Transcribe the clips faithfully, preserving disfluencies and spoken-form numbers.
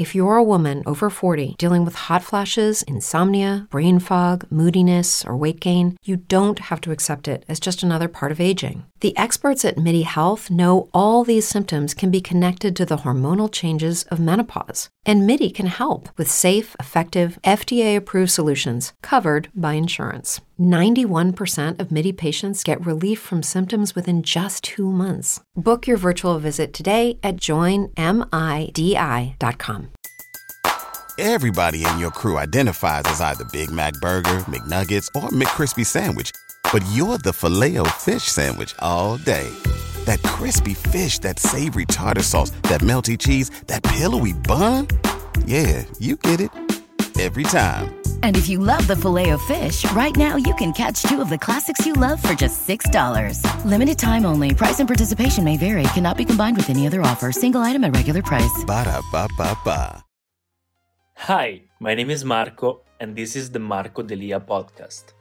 If you're a woman over forty dealing with hot flashes, insomnia, brain fog, moodiness, or weight gain, you don't have to accept it as just another part of aging. The experts at MIDI Health know all these symptoms can be connected to the hormonal changes of menopause. And MIDI can help with safe, effective, F D A-approved solutions covered by insurance. ninety-one percent of MIDI patients get relief from symptoms within just two months. Book your virtual visit today at join midi dot com. Everybody in your crew identifies as either Big Mac Burger, McNuggets, or McCrispy Sandwich. But you're the Filet-O-Fish Sandwich all day. That crispy fish, that savory tartar sauce, that melty cheese, that pillowy bun. Yeah, you get it. Every time. And if you love the Filet-O-Fish, right now you can catch two of the classics you love for just six dollars. Limited time only. Price and participation may vary. Cannot be combined with any other offer. Single item at regular price. Ba-da-ba-ba-ba. Hi, my name is Marco, and this is the Marco Delia podcast.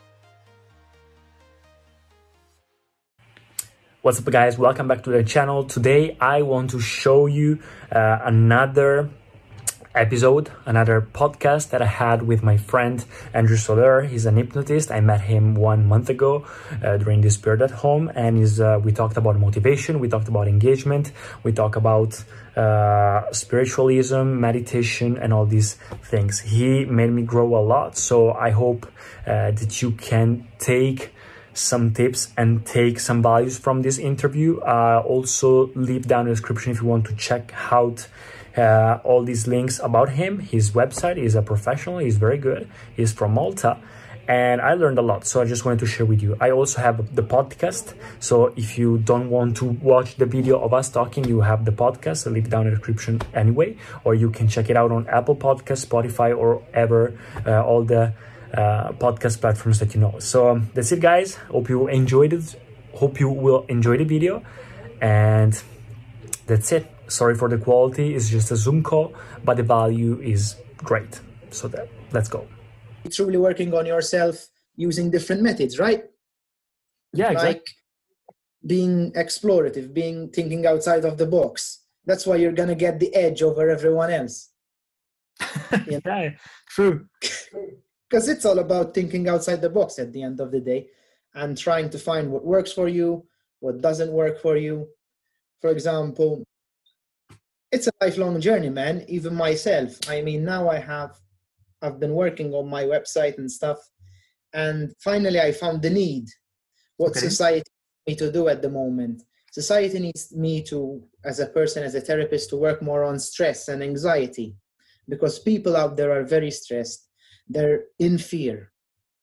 What's up, guys? Welcome back to the channel. Today, I want to show you uh, another episode, another podcast that I had with my friend Andrew Soler. He's an hypnotist. I met him one month ago uh, during this period at home, and he's, uh, we talked about motivation, we talked about engagement, we talked about uh, spiritualism, meditation, and all these things. He made me grow a lot, so I hope uh, that you can take some tips and take some values from this interview. Uh, also leave down in the description if you want to check out uh, all these links about him. His website is a professional, he's very good, he's from Malta, and I learned a lot, so I just wanted to share with you. I also have the podcast, so if you don't want to watch the video of us talking, you have the podcast, so leave down in the description anyway, or you can check it out on Apple Podcasts, Spotify, or ever uh, all the Uh, podcast platforms that you know. So um, that's it, guys. Hope you enjoyed it. Hope you will enjoy the video, and that's it. Sorry for the quality, it's just a Zoom call, but the value is great. So that let's go. Truly working on yourself using different methods, right? Yeah, exactly. Like being explorative, being thinking outside of the box. That's why you're gonna get the edge over everyone else. You know? Yeah, true. Because it's all about thinking outside the box at the end of the day and trying to find what works for you, what doesn't work for you. For example, it's a lifelong journey, man. Even myself. I mean, now I have, I've been working on my website and stuff, and finally I found the need. What Okay. society needs me to do at the moment. Society needs me to, as a person, as a therapist, to work more on stress and anxiety, because people out there are very stressed. They're in fear.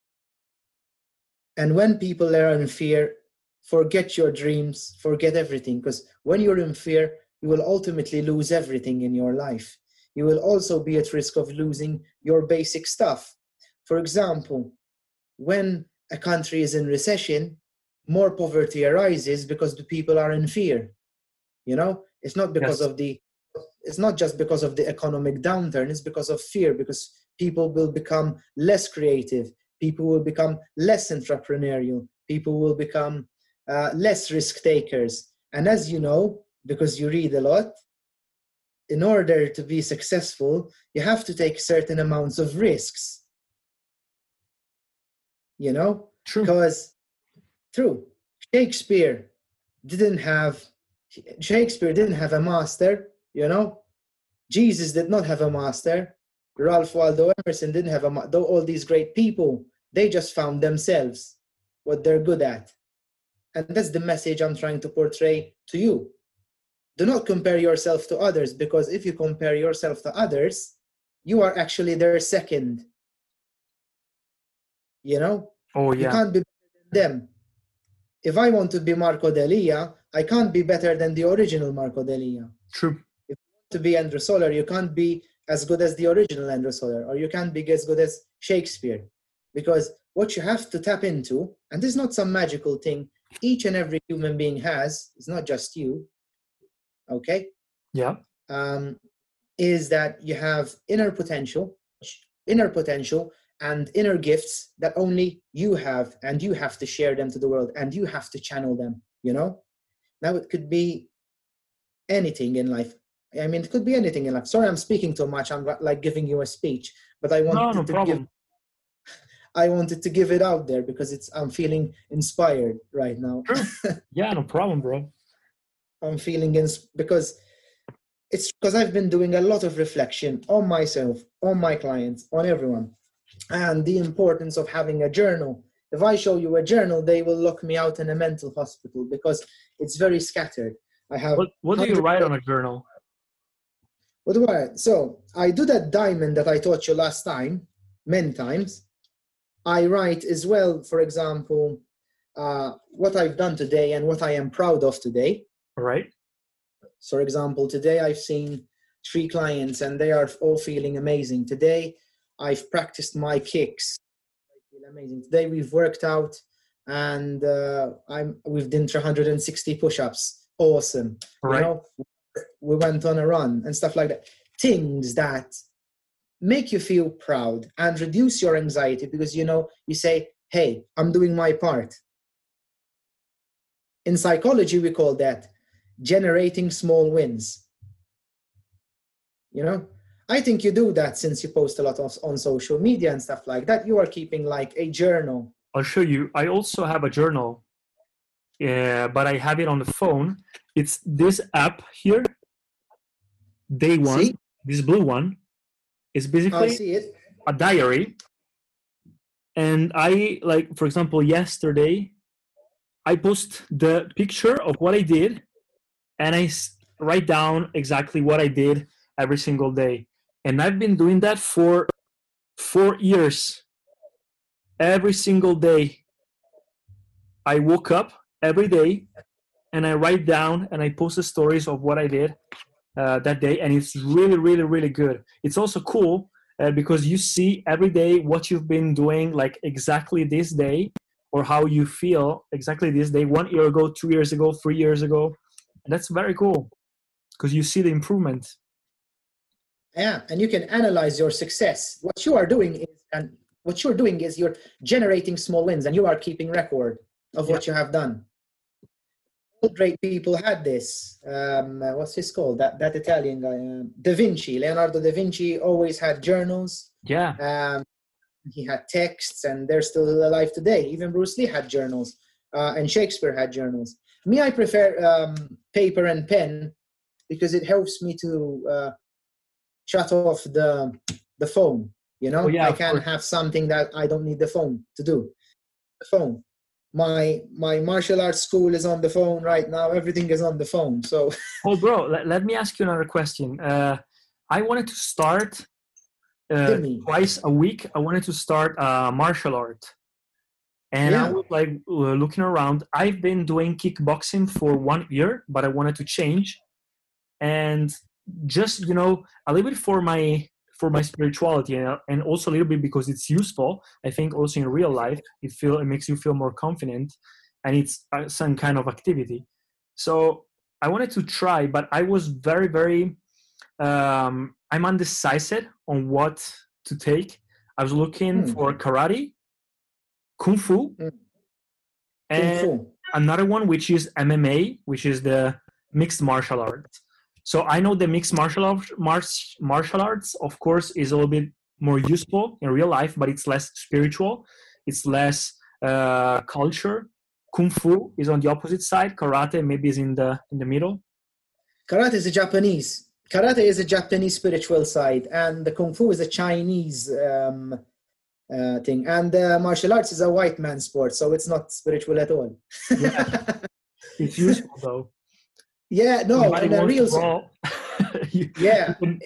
And when people are in fear, forget your dreams, forget everything. Because when you're in fear, you will ultimately lose everything in your life. You will also be at risk of losing your basic stuff. For example, when a country is in recession, more poverty arises because the people are in fear. You know, it's not because Yes. of the, it's not just because of the economic downturn, it's because of fear, because people will become less creative, people will become less entrepreneurial, people will become uh, less risk takers. And as you know, because you read a lot, in order to be successful, you have to take certain amounts of risks. You know? True. Because, true, Shakespeare didn't have, Shakespeare didn't have a master, you know? Jesus did not have a master. Ralph Waldo Emerson didn't have a master. Though all these great people, they just found themselves, what they're good at. And that's the message I'm trying to portray to you. Do not compare yourself to others, because if you compare yourself to others, you are actually their second. You know? Oh, You yeah. can't be better than them. If I want to be Marco Delia, I can't be better than the original Marco Delia. True. If you want to be Andrew Soler, you can't be as good as the original Andrew Soler, or you can't be as good as Shakespeare. Because what you have to tap into, and this is not some magical thing, each and every human being has, it's not just you, okay? Yeah. Um, is that you have inner potential, inner potential and inner gifts that only you have, and you have to share them to the world, and you have to channel them, you know? Now it could be anything in life. I mean, it could be anything in life. Sorry, I'm speaking too much. I'm like giving you a speech, but I wanted No, no to problem. give. I wanted to give it out there because it's. I'm feeling inspired right now. True. Yeah, no problem, bro. I'm feeling ins because it's because I've been doing a lot of reflection on myself, on my clients, on everyone, and the importance of having a journal. If I show you a journal, they will lock me out in a mental hospital because it's very scattered. I have. What What do you write on a journal? What do I? So I do that diamond that I taught you last time, many times. I write as well, for example, uh, what I've done today and what I am proud of today. All right. So, for example, today I've seen three clients and they are all feeling amazing. Today I've practiced my kicks. I feel amazing. Today we've worked out and uh, I'm we've done three hundred sixty push-ups. Awesome. All right. You know, we went on a run and stuff like that. Things that make you feel proud and reduce your anxiety because, you know, you say, hey, I'm doing my part. In psychology, we call that generating small wins. You know, I think you do that since you post a lot of, on social media and stuff like that. You are keeping like a journal. I'll show you. I also have a journal, uh, but I have it on the phone. It's this app here, Day One, See? This blue one. It's I basically see it. a diary. And I, like, for example, yesterday, I post the picture of what I did and I write down exactly what I did every single day. And I've been doing that for four years. Every single day, I woke up every day and I write down and I post the stories of what I did uh, that day. And it's really, really, really good. It's also cool uh, because you see every day what you've been doing, like exactly this day, or how you feel exactly this day, one year ago, two years ago, three years ago. And that's very cool because you see the improvement. Yeah, and you can analyze your success. What you are doing is, and what you're doing is you're generating small wins, and you are keeping record of what Yeah. you have done. All great people had this. Um, uh, what's his called? That that Italian guy, uh, Da Vinci. Leonardo da Vinci always had journals. Yeah. Um, he had texts, and they're still alive today. Even Bruce Lee had journals, uh, and Shakespeare had journals. Me, I prefer um, paper and pen because it helps me to uh, shut off the the phone. You know, Oh, yeah, I of can course. have something that I don't need the phone to do. The phone. My my martial arts school is on the phone right now. Everything is on the phone. So Oh, bro, let, let me ask you another question. Uh, I wanted to start uh, Hit me. twice a week. I wanted to start uh, martial art. And I Yeah. was like uh, looking around. I've been doing kickboxing for one year, but I wanted to change. And just, you know, a little bit for my for my spirituality, and, and also a little bit because it's useful. I think also in real life, it feel it makes you feel more confident, and it's uh, some kind of activity. So I wanted to try, but I was very, very, um, I'm undecisive on what to take. I was looking Hmm. for karate, kung fu, Hmm. and Kung Fu. another one which is M M A, which is the mixed martial arts. So I know the mixed martial arts, martial arts, of course, is a little bit more useful in real life, but it's less spiritual. It's less uh, culture. Kung fu is on the opposite side. Karate maybe is in the in the middle. Karate is a Japanese. Karate is a Japanese spiritual side, and the Kung Fu is a Chinese um, uh, thing. And uh, martial arts is a white man sport, so it's not spiritual at all. Yeah. It's useful though. Yeah, no, Somebody in a wants to real brawl, you- yeah, you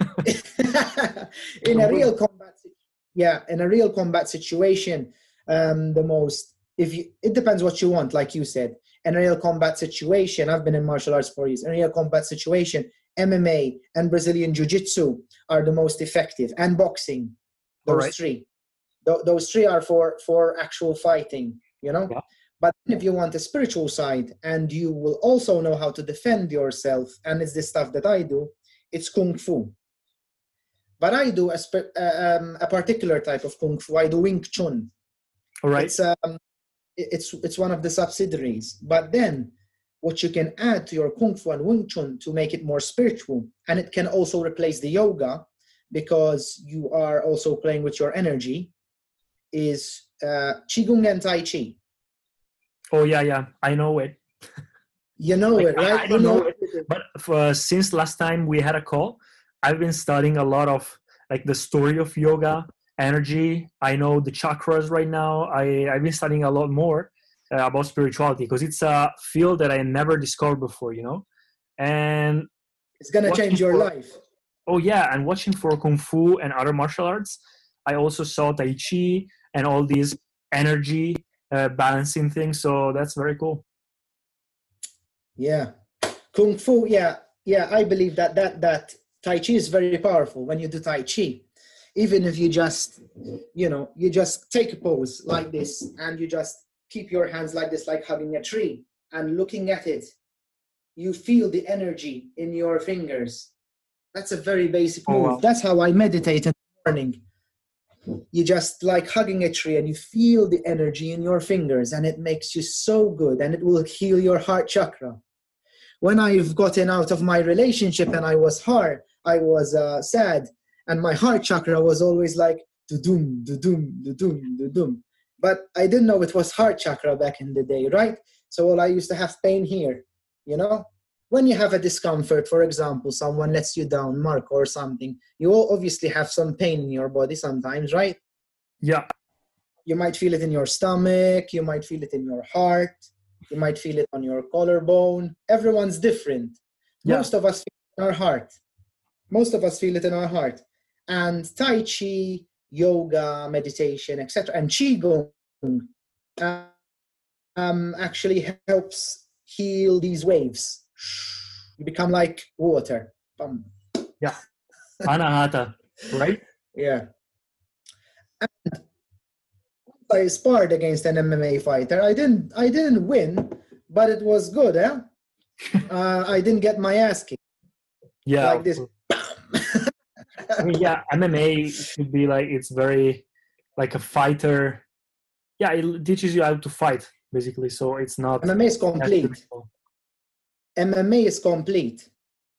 can- in a real combat, si- yeah, in a real combat situation, um, the most if you it depends what you want, like you said. In a real combat situation, I've been in martial arts for years. In a real combat situation, M M A and Brazilian Jiu-Jitsu are the most effective, and boxing. Those Alright. three, Th- those three are for for actual fighting. You know. Yeah. But if you want a spiritual side and you will also know how to defend yourself, and it's the stuff that I do, it's Kung Fu. But I do a, spe- uh, um, a particular type of Kung Fu. I do Wing Chun. All right. It's, um, it- it's, it's one of the subsidiaries. But then what you can add to your Kung Fu and Wing Chun to make it more spiritual. And it can also replace the yoga because you are also playing with your energy, is uh, Qigong and Tai Chi. Oh, yeah, yeah. I know it. You know Like, it, right? I, I don't you know it. But for, since last time we had a call, I've been studying a lot of like the story of yoga, energy. I know the chakras right now. I, I've been studying a lot more uh, about spirituality because it's a field that I never discovered before, you know? And it's going to change your for, life. Oh, yeah. And watching for Kung Fu and other martial arts, I also saw Tai Chi and all these energy uh, balancing things. So that's very cool. Yeah. Kung Fu, yeah. Yeah, I believe that that that Tai Chi is very powerful when you do Tai Chi. Even if you just, you know, you just take a pose like this and you just keep your hands like this, like hugging a tree and looking at it. You feel the energy in your fingers. That's a very basic move. Oh, wow. That's how I meditate in the morning. You just like hugging a tree and you feel the energy in your fingers and it makes you so good and it will heal your heart chakra. When I've gotten out of my relationship and I was hard, I was uh, sad, and my heart chakra was always like do-doom, do-doom, do-doom, do-doom. But I didn't know it was heart chakra back in the day, right? So well, I used to have pain here, you know? When you have a discomfort, for example, someone lets you down, Mark, or something, you will obviously have some pain in your body sometimes, right? Yeah. You might feel it in your stomach, you might feel it in your heart, you might feel it on your collarbone. Everyone's different. Yeah. Most of us feel it in our heart. Most of us feel it in our heart. And Tai Chi, yoga, meditation, et cetera, and Qigong uh, um, actually helps heal these waves. You become like water. Bum. Yeah. Anahata, right? Yeah. And I sparred against an M M A fighter. I didn't I didn't win, but it was good, eh? uh, I didn't get my ass kicked. Yeah. Like this. I mean, yeah, M M A should be like, it's very like a fighter. Yeah, it teaches you how to fight, basically. So it's not... M M A is complete. M M A is complete.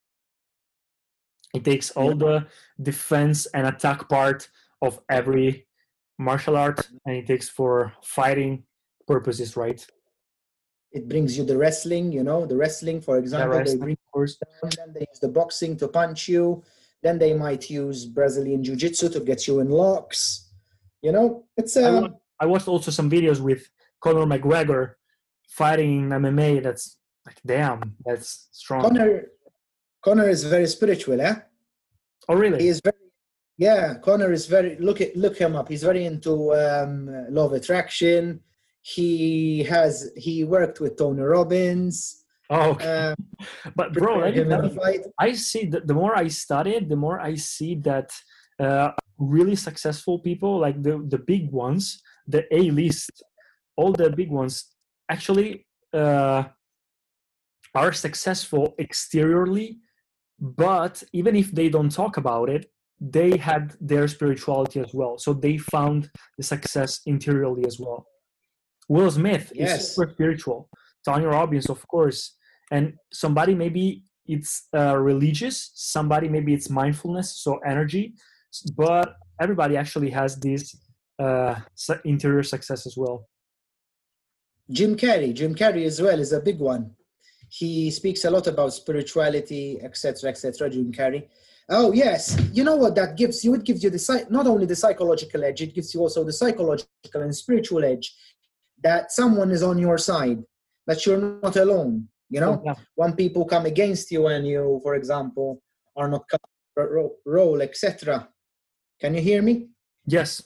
It takes all the defense and attack part of every martial art, and it takes for fighting purposes, right? It brings you the wrestling, you know, the wrestling, for example, yeah, wrestling, they bring of course. Down, then they use the boxing to punch you, then they might use Brazilian Jiu-Jitsu to get you in locks, you know, it's... Um, I, watched, I watched also some videos with Conor McGregor fighting in M M A. That's like, damn, that's strong. Conor, Conor is very spiritual, eh? Oh, really? He is very... Yeah, Conor is very, look at look him up. He's very into um, law of attraction. He has he worked with Tony Robbins. Oh, okay. Um, but bro, let me tell you, I see that the more I study it, the more I see that uh, really successful people, like the the big ones, the A-list, all the big ones, actually uh, are successful exteriorly, but even if they don't talk about it, they had their spirituality as well. So they found the success interiorly as well. Will Smith yes. is super spiritual. Tony Robbins, of course. And somebody maybe it's uh, religious, somebody maybe it's mindfulness, so energy. But everybody actually has this uh, interior success as well. Jim Carrey, Jim Carrey as well is a big one. He speaks a lot about spirituality, et cetera, et cetera. Jim Carrey. Oh yes, you know what that gives you? It gives you the not only the psychological edge, it gives you also the psychological and spiritual edge that someone is on your side, that you're not alone. You know, yeah. When people come against you and you, for example, are not coming role, et cetera. Can you hear me? Yes.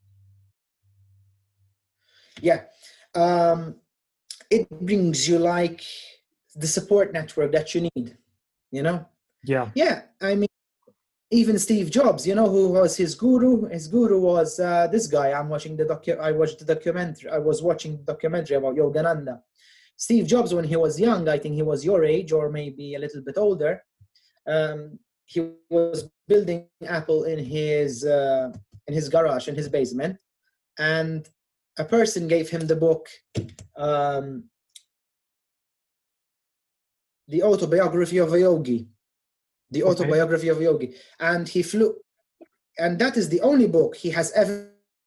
Yeah, um, it brings you like the support network that you need. You know. Yeah. Yeah, I mean. Even Steve Jobs, you know who was his guru? His guru was uh, this guy. I'm watching the docu- I watched the documentary. I was watching the documentary about Yogananda. Steve Jobs, when he was young, I think he was your age or maybe a little bit older. Um, he was building Apple in his uh, in his garage, in his basement, and a person gave him the book. Um, The Autobiography of a Yogi. The Okay. Autobiography of a Yogi. And he flew, and that is the only book he has ever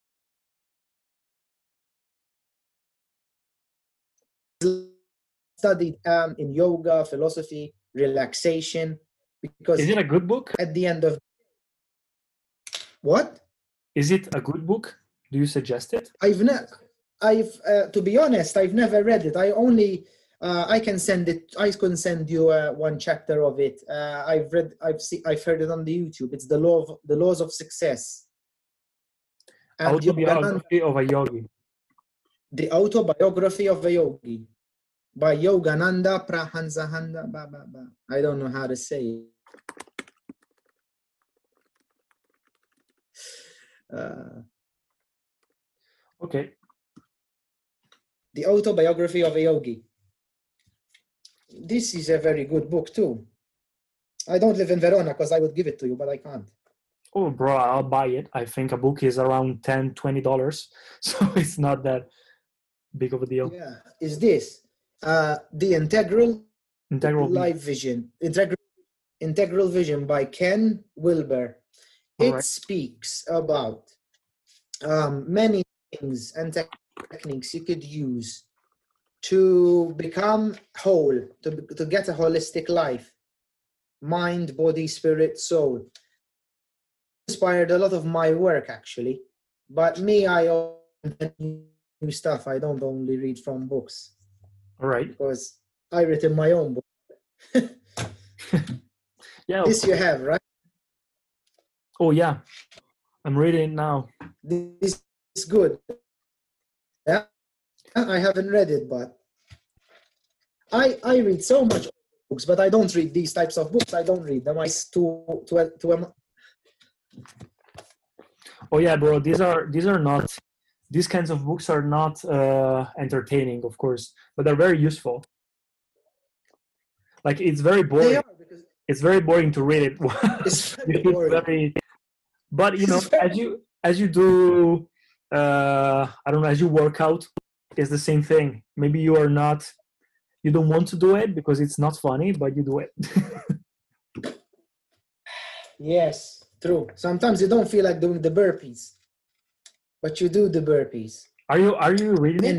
studied um, in yoga, philosophy, relaxation, because Is it a good book? at the end of what? Is it a good book? Do you suggest it? I've never, I've, uh, to be honest, I've never read it. I only, uh, I can send it, I can send you uh, one chapter of it. Uh, I've read, I've seen, I've heard it on the YouTube. It's the law of, the laws of success. And Yogananda, Autobiography of a Yogi. the Autobiography of a Yogi by Yogananda Prahanzahanda. Ba, ba, ba. I don't know how to say it. Uh, Okay. the Autobiography of a Yogi. This is a very good book too. I don't live in Verona because I would give it to you, but I can't. Oh, bro, I'll buy it. I think a book is around ten dollars, twenty dollars. So it's not that big of a deal. Yeah, is this uh, the Integral Integral Life Vision? Integral Integral Vision by Ken Wilber. It Alright. speaks about um, many things and te- techniques you could use to become whole, to, to get a holistic life, mind, body, spirit, soul. Inspired a lot of my work actually, but me, I own new stuff. I don't only read from books All right. because I written my own book. Yeah. This you have, right? Oh, yeah. I'm reading it now. This is good. Yeah, I haven't read it, but I I read so much books, but I don't read these types of books. I don't read them. I to to to um, Oh, yeah, bro. These are these are not. These kinds of books are not uh, entertaining, of course, but they're very useful. Like it's very they boring. are because It's very boring to read it. it's very You feel boring. very- but you know, It's very- as you as you do, uh, I don't know, as you work out, it's the same thing. Maybe you are not, you don't want to do it because it's not funny, but you do it. Yes, true. Sometimes you don't feel like doing the burpees, but you do the burpees. Are you are you reading it? And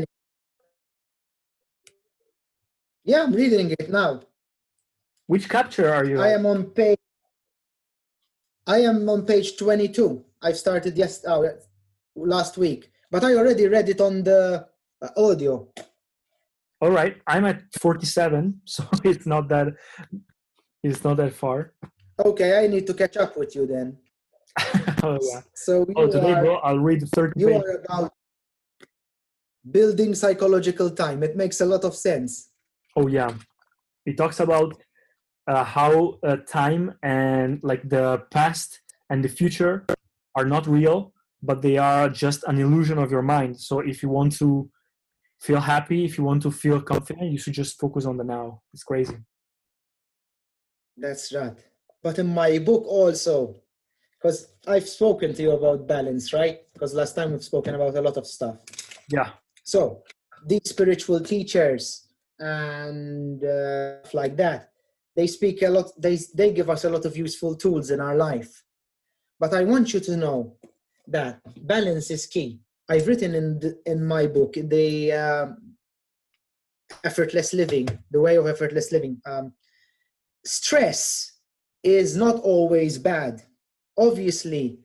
yeah, I'm reading it now. Which chapter are you? I at? am on page. I am on page twenty-two. I've started yes oh, last week, but I already read it on the uh, audio. All right, I'm at forty-seven, so it's not that it's not that far. Okay, I need to catch up with you then. Oh yeah. So you Oh, today, are bro, I'll read thirty you pages. are about building psychological time. It makes a lot of sense. Oh yeah, it talks about uh, how uh, time and like the past and the future are not real, but they are just an illusion of your mind. So if you want to feel happy, if you want to feel confident, you should just focus on the now. It's crazy. That's right. But in my book also, because I've spoken to you about balance, right? Because last time we've spoken about a lot of stuff. Yeah. So these spiritual teachers and uh, stuff like that, they speak a lot, they, they give us a lot of useful tools in our life. But I want you to know that balance is key. I've written in the, in my book, the um, effortless living, the way of effortless living. Um, stress is not always bad. Obviously,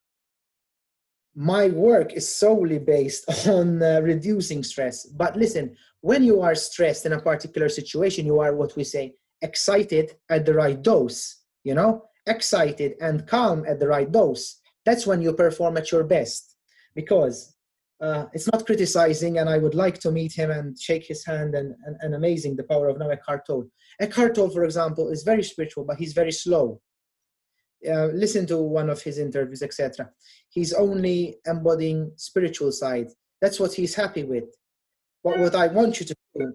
my work is solely based on uh, reducing stress. But listen, when you are stressed in a particular situation, you are what we say excited at the right dose, you know, excited and calm at the right dose. That's when you perform at your best. Because uh, it's not criticizing, and I would like to meet him and shake his hand, and, and, and amazing the power of now Eckhart Tolle. Eckhart Tolle, for example, is very spiritual, but he's very slow. Uh, listen to one of his interviews, et cetera. He's only embodying spiritual side. That's what he's happy with. But what I want you to do,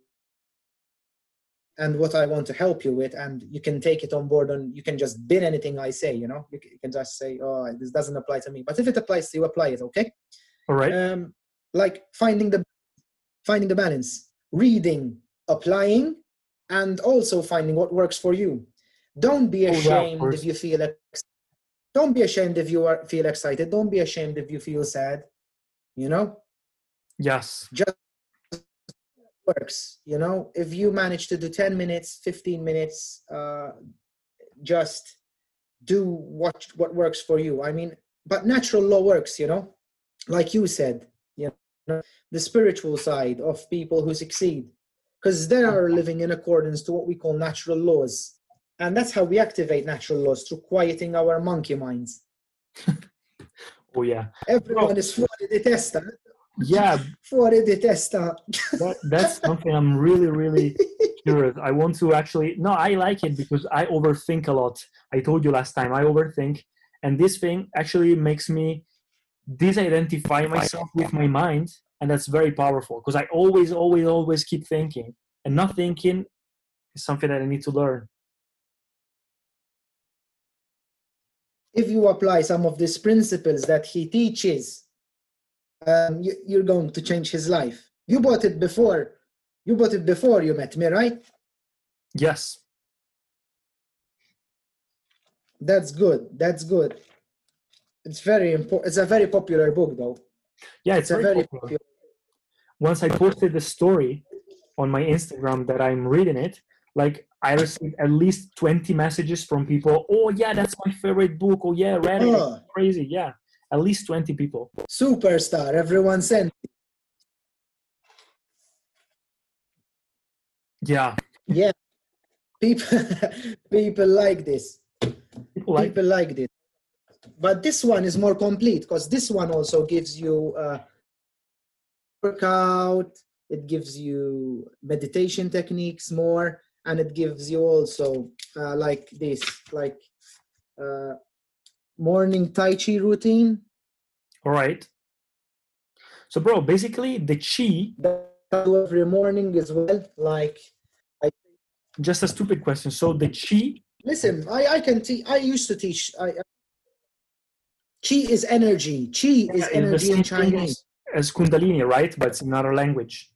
and what I want to help you with, and you can take it on board, and you can just bin anything I say, you know, you can just say, oh, this doesn't apply to me. But if it applies to you, apply it, okay? All right. Um, like finding the finding the balance, reading, applying, and also finding what works for you. Don't be Oh, yeah, of ashamed course. if you feel ex- don't be ashamed if you are, feel excited. Don't be ashamed if you feel sad. You know, Yes. just works. You know, if you manage to do ten minutes, fifteen minutes, uh, just do what what works for you. I mean, but natural law works. You know, like you said. You know, the spiritual side of people who succeed, because they are living in accordance to what we call natural laws. And that's how we activate natural laws, through quieting our monkey minds. Oh, yeah. Everyone Bro, is fuori di testa. yeah, Fuori di testa. that, that's something I'm really, really curious. I want to actually, no, I like it because I overthink a lot. I told you last time, I overthink. And this thing actually makes me disidentify myself with my mind. And that's very powerful because I always, always, always keep thinking. And not thinking is something that I need to learn. If you apply some of these principles that he teaches, um, you, you're going to change his life. You bought it before. You bought it before you met me, right? Yes. That's good. That's good. It's very important. It's a very popular book, though. Yeah, it's, It's a very, very popular. popular. Once I posted the story on my Instagram that I'm reading it, like I received at least twenty messages from people. Oh yeah, that's my favorite book. Oh yeah, read it. Oh. Crazy. Yeah, at least twenty people. Superstar. Everyone sent. Yeah, Yeah. People, people like this. people like. People like this. But this one is more complete because this one also gives you uh, workout. It gives you meditation techniques more, and it gives you also uh, like this, like uh, morning Tai Chi routine. All right. So, bro, basically the chi. That I do every morning as well. Like, I Just a stupid question. So the chi. listen. I I can teach. I used to teach. I, I Chi is energy. Chi is is the energy same in thing Chinese. as, as Kundalini, right? But it's another language.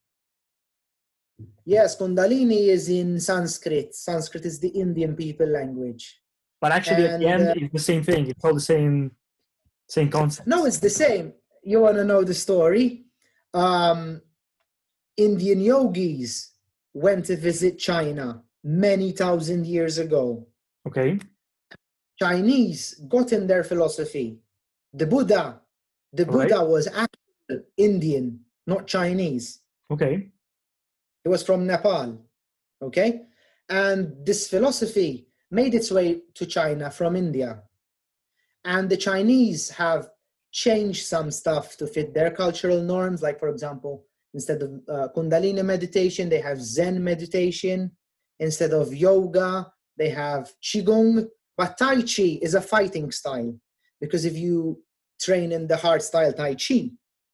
Yes, Kundalini is in Sanskrit. Sanskrit is the Indian people language. But actually, at the And, end, uh, it's the same thing. It's all the same, same concept. No, it's the same. You want to know the story? Um, Indian yogis went to visit China many thousand years ago. Okay. Chinese got in their philosophy. The Buddha, the All right. Buddha was actually Indian, not Chinese. Okay. It was from Nepal, okay? And this philosophy made its way to China from India. And the Chinese have changed some stuff to fit their cultural norms. Like, for example, instead of uh, Kundalini meditation, they have Zen meditation. Instead of yoga, they have Qigong. But Tai Chi is a fighting style, because if you train in the hard style Tai Chi,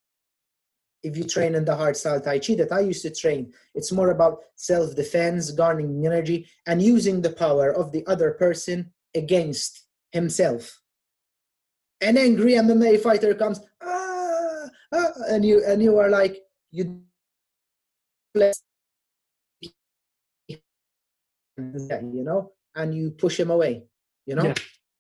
if you train in the hard style Tai Chi that I used to train, it's more about self-defense, garnering energy, and using the power of the other person against himself. An angry M M A fighter comes, ah, ah, and you and you are like, you, you know, and you push him away, you know. Yeah.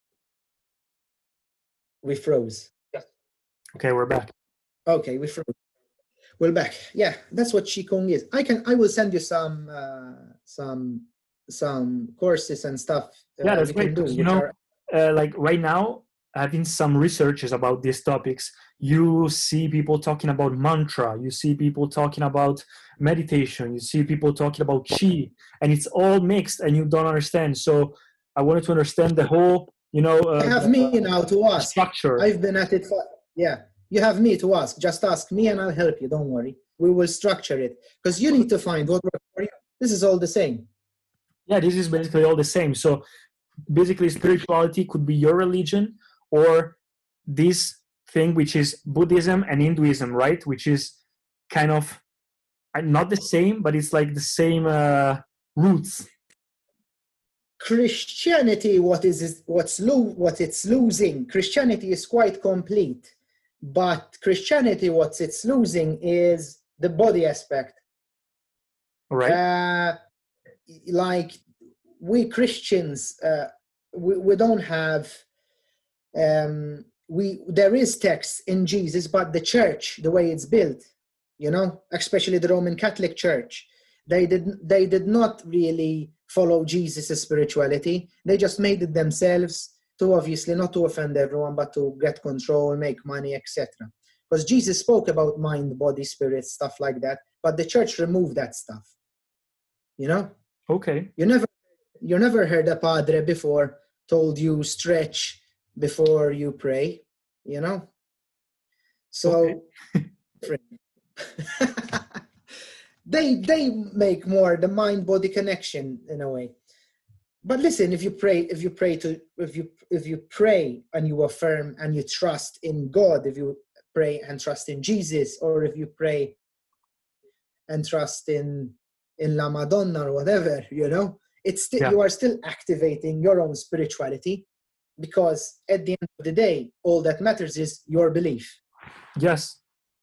We froze. Yeah. Okay, we're back. Okay, we froze. We're back. Yeah, that's what Qigong is. I can. I will send you some uh, some some courses and stuff. Uh, Yeah, that's you great. can do. 'Cause, you which know, are- uh, like right now, having some researches about these topics, you see people talking about mantra, you see people talking about meditation, you see people talking about chi, and it's all mixed, and you don't understand. So I wanted to understand the whole, you know, uh, I have the, me now to uh, ask. structure. I've been at it for, yeah, you have me to ask. Just ask me and I'll help you. Don't worry. We will structure it, because you need to find what works for you. This is all the same. Yeah, this is basically all the same. So basically, spirituality could be your religion, or this thing which is Buddhism and Hinduism, right? Which is kind of uh, not the same, but it's like the same uh, roots. Christianity, what is is what's lo- what it's losing? Christianity is quite complete, but Christianity, what it's losing is the body aspect. All right. Uh, like we Christians, uh, we, we don't have, um, we there is text in Jesus, but the church, the way it's built, you know, especially the Roman Catholic Church, they did they did not really follow Jesus' spirituality. They just made it themselves to, obviously not to offend everyone, but to get control, make money, et cetera. Because Jesus spoke about mind, body, spirit, stuff like that, but the church removed that stuff. You know? Okay. You never you never heard a padre before told you stretch before you pray, you know? So okay. they they make more the mind-body connection in a way. But listen, if you pray, if you pray to if you if you pray and you affirm and you trust in God, if you pray and trust in Jesus, or if you pray and trust in in La Madonna or whatever, you know, it's still yeah. you are still activating your own spirituality, because at the end of the day, all that matters is your belief. Yes.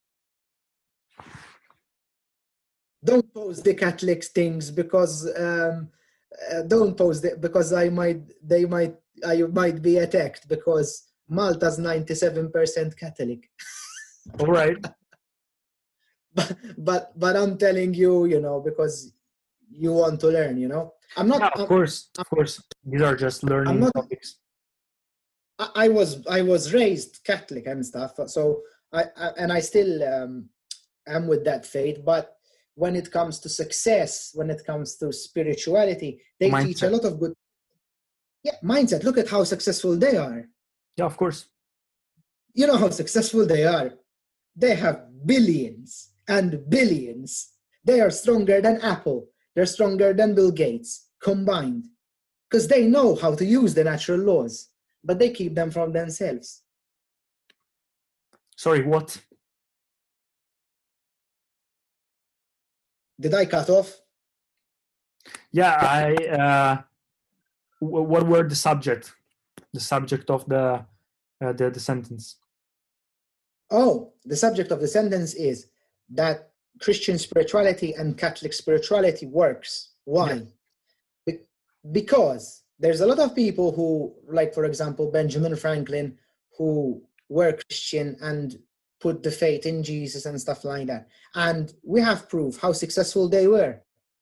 Don't post the Catholics things because um, uh, don't post it because I might they might I might be attacked because Malta's ninety-seven percent Catholic. All right. but but but I'm telling you, you know, because you want to learn, you know. I'm not. Yeah, of I'm, course, of course. These are just learning not, topics. I, I was I was raised Catholic and stuff, so I, I and I still um, am with that faith. But when it comes to success, when it comes to spirituality, they mindset. teach a lot of good. Yeah, mindset. Look at how successful they are. Yeah, of course. You know how successful they are. They have billions and billions. They are stronger than Apple. They're stronger than Bill Gates combined, because they know how to use the natural laws, but they keep them from themselves. Sorry, what? Did I cut off? Yeah, I. Uh, w- what were the subject? The subject of the, uh, the the sentence. Oh, the subject of the sentence is that Christian spirituality and Catholic spirituality works. Why? Yeah. Be- because there's a lot of people who, like, for example, Benjamin Franklin, who were Christian and put the faith in Jesus and stuff like that. And we have proof how successful they were.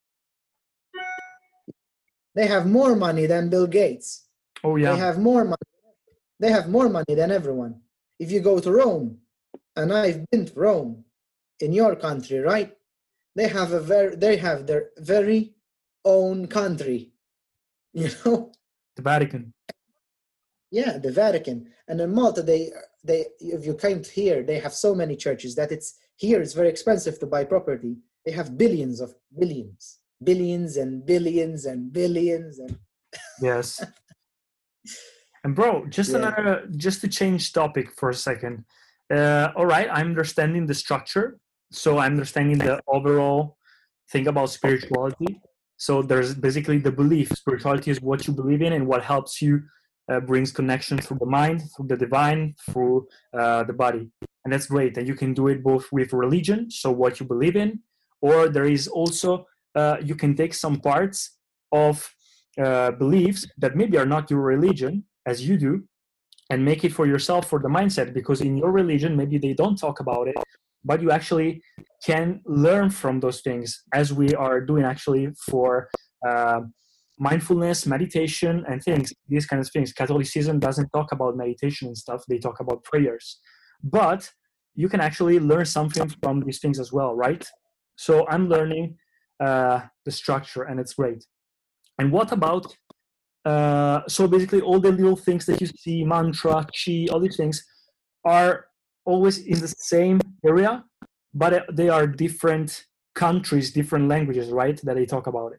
They have more money than Bill Gates. Oh, yeah. They have more money. They have more money than everyone. If you go to Rome, and I've been to Rome, in your country, right? They have a very, they have their very own country, you know. The Vatican. Yeah, the Vatican. And in Malta, they, they, if you came here, they have so many churches that it's here. It's very expensive to buy property. They have billions of billions, billions and billions and billions and. Yes. And bro, just yeah. another, just to change topic for a second. Uh, all right, I'm understanding the structure. So I'm understanding the overall thing about spirituality. So there's basically the belief. Spirituality is what you believe in and what helps you, uh, brings connection through the mind, through the divine, through uh, the body. And that's great. And you can do it both with religion, so what you believe in, or there is also, uh, you can take some parts of uh, beliefs that maybe are not your religion, as you do, and make it for yourself, for the mindset, because in your religion, maybe they don't talk about it, but you actually can learn from those things, as we are doing actually for uh, mindfulness, meditation, and things, these kinds of things. Catholicism doesn't talk about meditation and stuff. They talk about prayers. But you can actually learn something from these things as well, right? So I'm learning uh, the structure, and it's great. And what about, uh, so basically all the little things that you see, mantra, chi, all these things are always in the same area, but they are different countries, different languages, right, that they talk about it.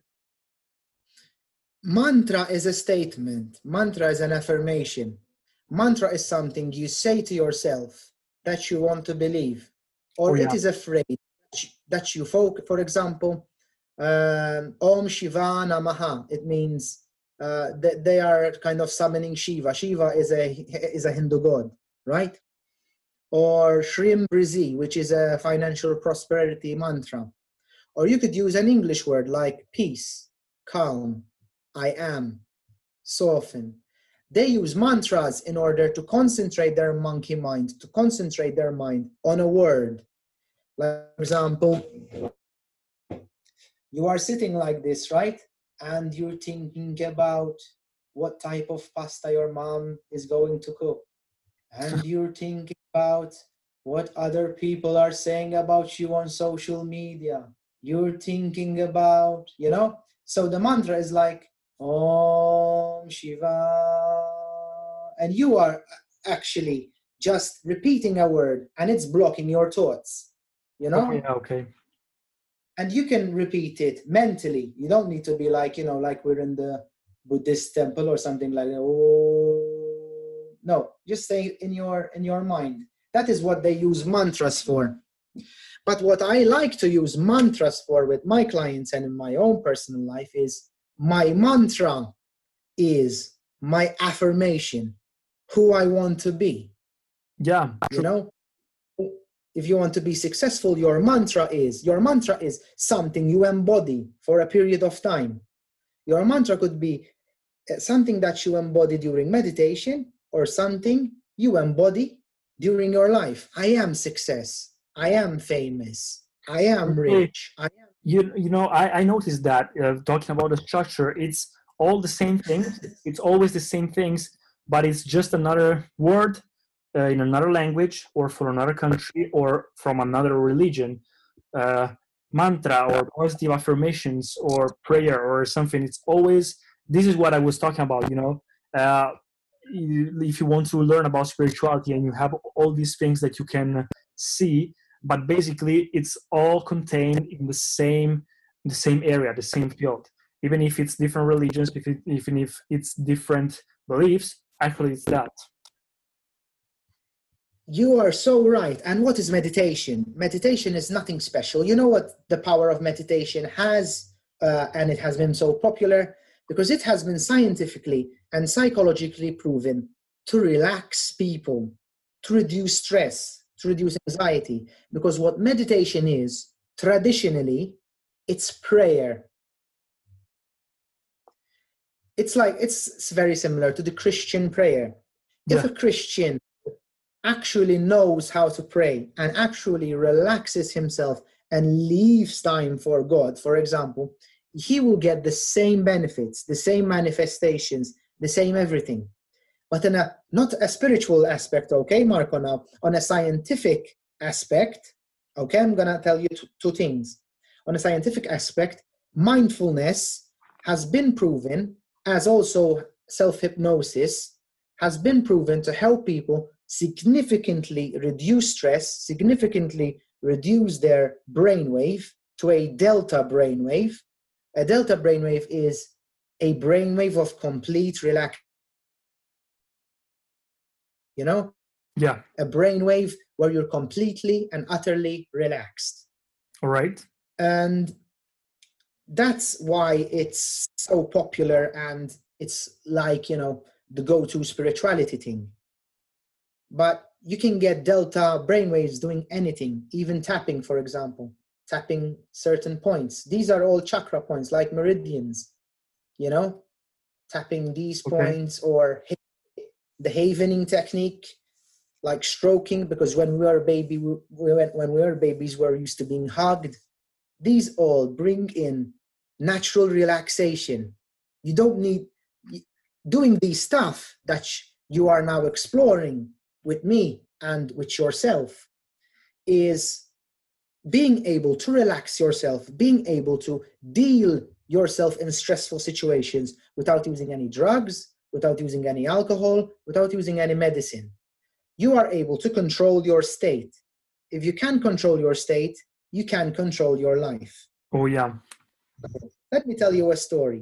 Mantra is a statement. Mantra is an affirmation. Mantra is something you say to yourself that you want to believe, or oh, yeah. it is a phrase that you focus. For example, um, Om Shiva Namaha. It means uh, that they are kind of summoning Shiva. Shiva is a is a Hindu god, right? Or Shrim Brizi, which is a financial prosperity mantra. Or you could use an English word like peace. calm, I am, soften. They use mantras in order to concentrate their monkey mind, to concentrate their mind on a word. Like, for example, you are sitting like this, right? And you're thinking about what type of pasta your mom is going to cook. And you're thinking about what other people are saying about you on social media. You're thinking about, you know? So the mantra is like, Om Shiva. And you are actually just repeating a word and it's blocking your thoughts, you know? Okay, okay. And you can repeat it mentally. You don't need to be like, you know, like we're in the Buddhist temple or something like that. Oh, no, just say in your in your mind. That is what they use mantras for. But what I like to use mantras for with my clients and in my own personal life is my mantra is my affirmation, who I want to be. Yeah. You know? If you want to be successful, your mantra is, your mantra is something you embody for a period of time. Your mantra could be something that you embody during meditation or something you embody during your life. I am success. I am famous. I am rich. I am. You, you know, I, I noticed that uh, talking about the structure, it's all the same things. It's always the same things, but it's just another word Uh, in another language or for another country or from another religion, uh, mantra or positive affirmations or prayer or something. It's always, this is what I was talking about, you know, uh, if you want to learn about spirituality and you have all these things that you can see, but basically it's all contained in the same, the same area, the same field. Even if it's different religions, if it, even if it's different beliefs, actually it's that. You are so right. And what is meditation? Meditation is nothing special. You know what the power of meditation has, uh, and it has been so popular because it has been scientifically and psychologically proven to relax people, to reduce stress, to reduce anxiety. Because what meditation is, traditionally, it's prayer. It's like, it's, it's very similar to the Christian prayer. Yeah. If a Christian actually knows how to pray and actually relaxes himself and leaves time for God, for example, he will get the same benefits, the same manifestations, the same everything. But in a, not a spiritual aspect, okay, Marco, now, on a scientific aspect, okay, I'm going to tell you two, two things. On a scientific aspect, mindfulness has been proven, as also self-hypnosis, has been proven to help people significantly reduce stress, significantly reduce their brainwave to a delta brainwave. A delta brainwave is a brainwave of complete relax. You know? Yeah. A brainwave where you're completely and utterly relaxed. All right. And that's why it's so popular and it's like, you know, the go-to spirituality thing. But you can get delta brainwaves doing anything, even tapping, for example, tapping certain points. These are all chakra points, like meridians, you know, tapping these okay. points, or the havening technique, like stroking, because when we were a baby, we, when we were babies, we're used to being hugged. These all bring in natural relaxation. You don't need doing these stuff that you are now exploring with me and with yourself is being able to relax yourself, being able to deal yourself in stressful situations without using any drugs, without using any alcohol, without using any medicine. You are able to control your state. If you can control your state, you can control your life. Oh, yeah. Let me tell you a story.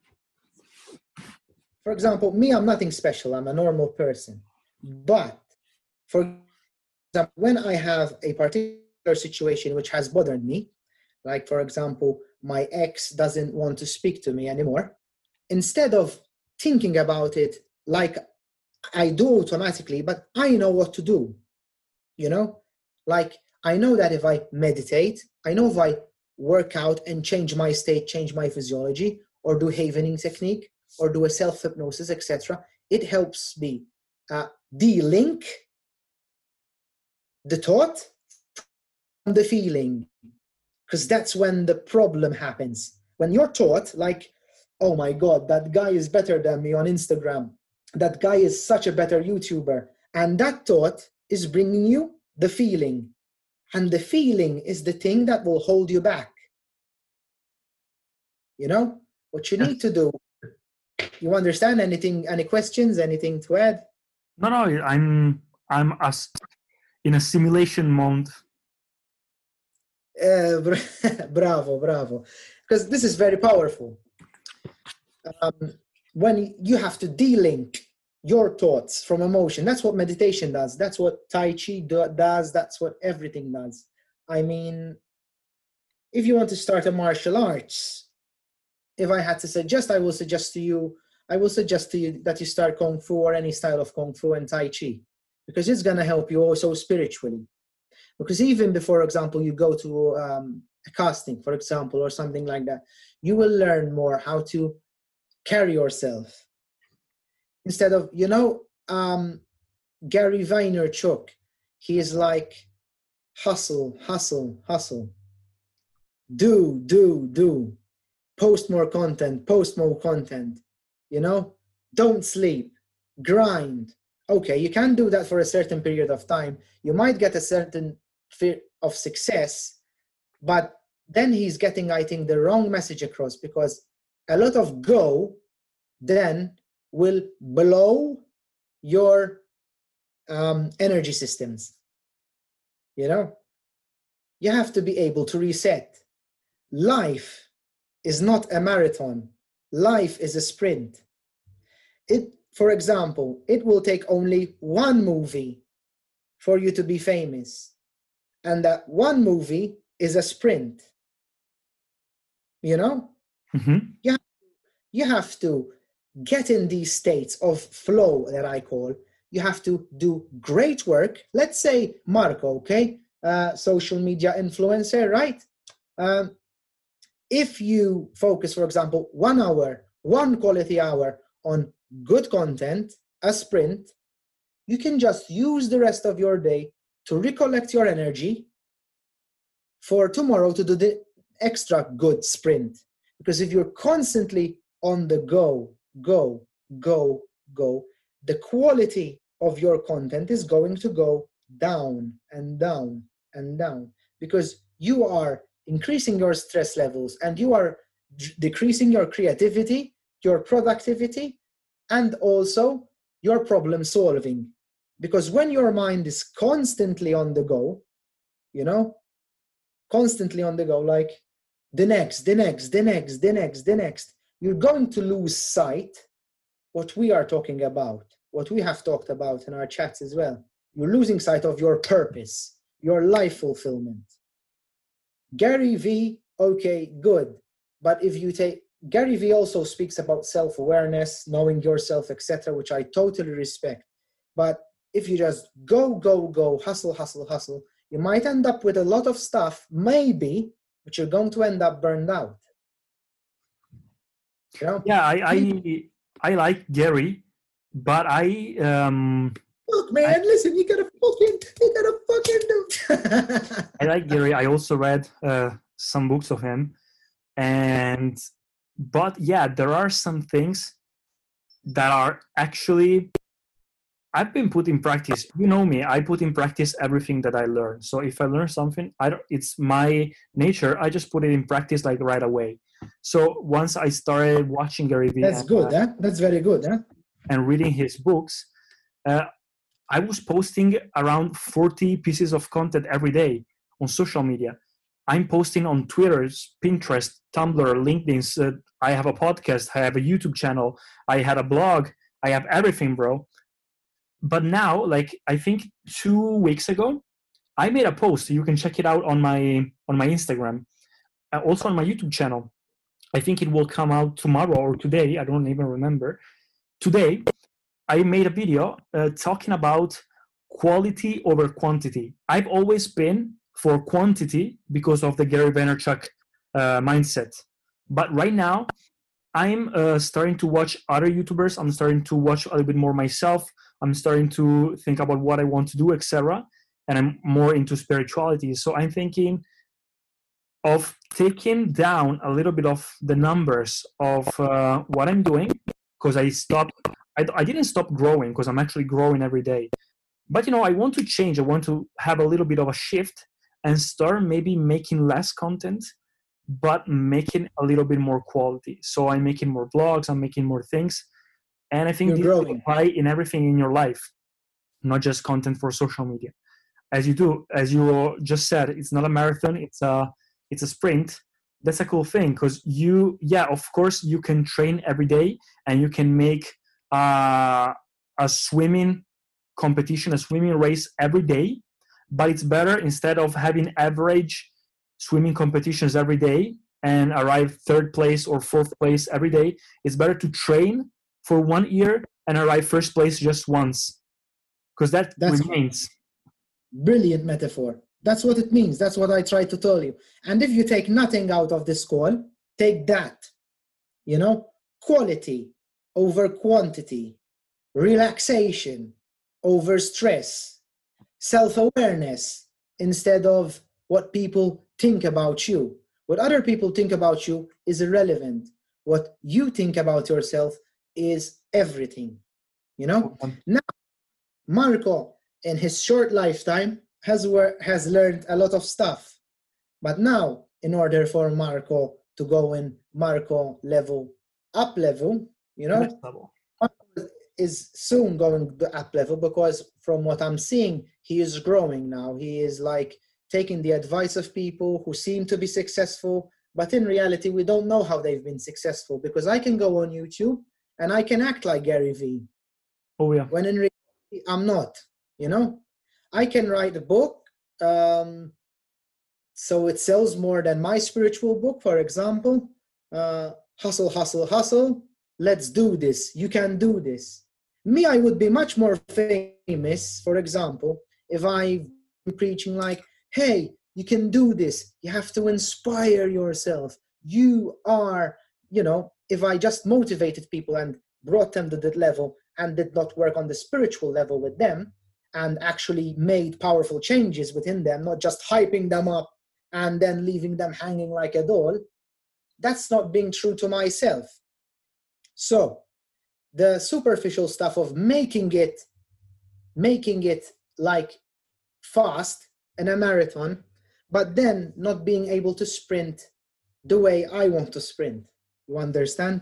For example, me, I'm nothing special. I'm a normal person. But for example, when I have a particular situation which has bothered me, like, for example, my ex doesn't want to speak to me anymore, instead of thinking about it like I do automatically, but I know what to do, you know? Like, I know that if I meditate, I know if I work out and change my state, change my physiology, or do havening technique, or do a self-hypnosis, et cetera, it helps me uh, de-link the thought from the feeling, because that's when the problem happens. When you're taught, like, oh my God, that guy is better than me on Instagram, that guy is such a better YouTuber, and that thought is bringing you the feeling, and the feeling is the thing that will hold you back. You know, what you need to do. You understand anything, any questions, anything to add? No, no, I'm, I'm as in a simulation mode. Uh, bravo, bravo. Because this is very powerful. Um, when you have to de-link your thoughts from emotion, that's what meditation does. That's what Tai Chi do, does. That's what everything does. I mean, if you want to start a martial arts, if I had to suggest, I will suggest to you, I will suggest to you that you start Kung Fu or any style of Kung Fu and Tai Chi, because it's going to help you also spiritually. Because even before, example, you go to um, a casting, for example, or something like that, you will learn more how to carry yourself. Instead of, you know, um, Gary Vaynerchuk, he is like, hustle, hustle, hustle. Do, do, do. Post more content, post more content. You know, don't sleep, grind. Okay, you can do that for a certain period of time. You might get a certain fear of success, but then he's getting, I think, the wrong message across, because a lot of go then will blow your um, energy systems. You know, you have to be able to reset. Life is not a marathon. Life is a sprint. It, for example, it will take only one movie for you to be famous. And that one movie is a sprint. You know? Mm-hmm. You have, you have to get in these states of flow that I call. You have to do great work. Let's say Marco, okay? Uh, social media influencer, right? Um, if you focus, for example, one hour, one quality hour on good content, a sprint, you can just use the rest of your day to recollect your energy for tomorrow to do the extra good sprint. Because if you're constantly on the go, go, go, go, the quality of your content is going to go down and down and down, because you are increasing your stress levels and you are d- decreasing your creativity, your productivity, and also your problem solving. Because when your mind is constantly on the go, you know, constantly on the go, like the next, the next, the next, the next, the next, you're going to lose sight what we are talking about, what we have talked about in our chats as well. You're losing sight of your purpose, your life fulfillment. Gary V, okay, good. But if you take, Gary V also speaks about self-awareness, knowing yourself, et cetera, which I totally respect. But if you just go, go, go, hustle, hustle, hustle, you might end up with a lot of stuff, maybe, but you're going to end up burned out. You know? Yeah, I, I, I like Gary, but I... Um, Look, man, I, listen, you gotta fucking, you gotta fucking do. I like Gary. I also read uh, some books of him. And, but yeah, there are some things that are actually, I've been put in practice. You know me, I put in practice everything that I learn. So if I learn something, I don't, it's my nature. I just put it in practice like right away. So once I started watching Gary Vee, that's and, good, uh, huh? That's very good, huh? And reading his books, uh, I was posting around forty pieces of content every day on social media. I'm posting on Twitter, Pinterest, Tumblr, LinkedIn. Uh, I have a podcast. I have a YouTube channel. I had a blog. I have everything, bro. But now, like I think two weeks ago, I made a post. You can check it out on my on my Instagram, uh, also on my YouTube channel. I think it will come out tomorrow or today. I don't even remember. Today, I made a video uh, talking about quality over quantity. I've always been for quantity because of the Gary Vaynerchuk uh, mindset. But right now, I'm uh, starting to watch other YouTubers. I'm starting to watch a little bit more myself. I'm starting to think about what I want to do, et cetera. And I'm more into spirituality. So I'm thinking of taking down a little bit of the numbers of uh, what I'm doing, because I stopped. I, I didn't stop growing, because I'm actually growing every day. But, you know, I want to change. I want to have a little bit of a shift and start maybe making less content, but making a little bit more quality. So I'm making more vlogs, I'm making more things. And I think You're this growing. will apply in everything in your life, not just content for social media. As you do, as you just said, it's not a marathon, it's a, it's a sprint. That's a cool thing, because you, yeah, of course, you can train every day and you can make uh, a swimming competition, a swimming race every day. But it's better, instead of having average swimming competitions every day and arrive third place or fourth place every day, it's better to train for one year and arrive first place just once, because that That's remains. Brilliant metaphor. That's what it means. That's what I try to tell you. And if you take nothing out of this call, take that. You know, quality over quantity, relaxation over stress, self-awareness instead of what people think about you. What other people think about you is irrelevant. What you think about yourself is everything. You know? Now, Marco, in his short lifetime, has wor- has learned a lot of stuff. But now, in order for Marco to go in Marco level, up level, you know, Level. Marco is soon going to up level, because from what I'm seeing, he is growing now. He is like taking the advice of people who seem to be successful, but in reality, we don't know how they've been successful, because I can go on YouTube and I can act like Gary Vee. Oh, yeah. When in reality, I'm not, you know? I can write a book, um, so it sells more than my spiritual book, for example. Uh, hustle, hustle, hustle. Let's do this. You can do this. Me, I would be much more famous, for example, if I've been preaching like, hey, you can do this. You have to inspire yourself. You are, you know, if I just motivated people and brought them to that level and did not work on the spiritual level with them, and actually made powerful changes within them, not just hyping them up and then leaving them hanging like a doll, that's not being true to myself. So the superficial stuff of making it, making it like fast in a marathon, but then not being able to sprint the way I want to sprint. You understand?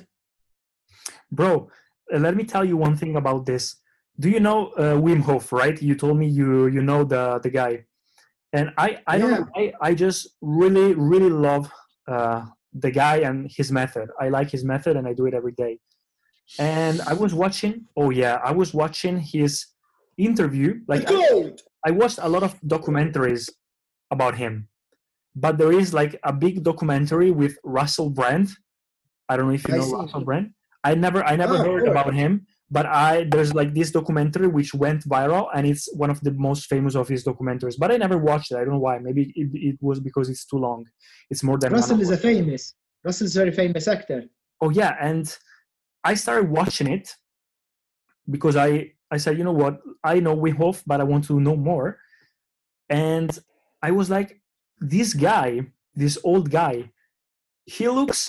Bro, uh, let me tell you one thing about this. Do you know uh, Wim Hof, right? You told me you you know the the guy. And I, I don't Yeah. know, I, I just really, really love uh, the guy and his method. I like his method and I do it every day. And I was watching, oh yeah, I was watching his interview. Like I, I watched a lot of documentaries about him. But there is like a big documentary with Russell Brand. I don't know if you I know see. Russell Brand. I never I never Ah, of heard course. about him. But I there's like this documentary which went viral, and it's one of the most famous of his documentaries. But I never watched it. I don't know why. Maybe it, it was because it's too long. It's more than Russell one is hour. a famous, Russell's a very famous actor. Oh yeah, and I started watching it because I I said, you know what, I know Wim Hof, but I want to know more. And I was like, this guy, this old guy, he looks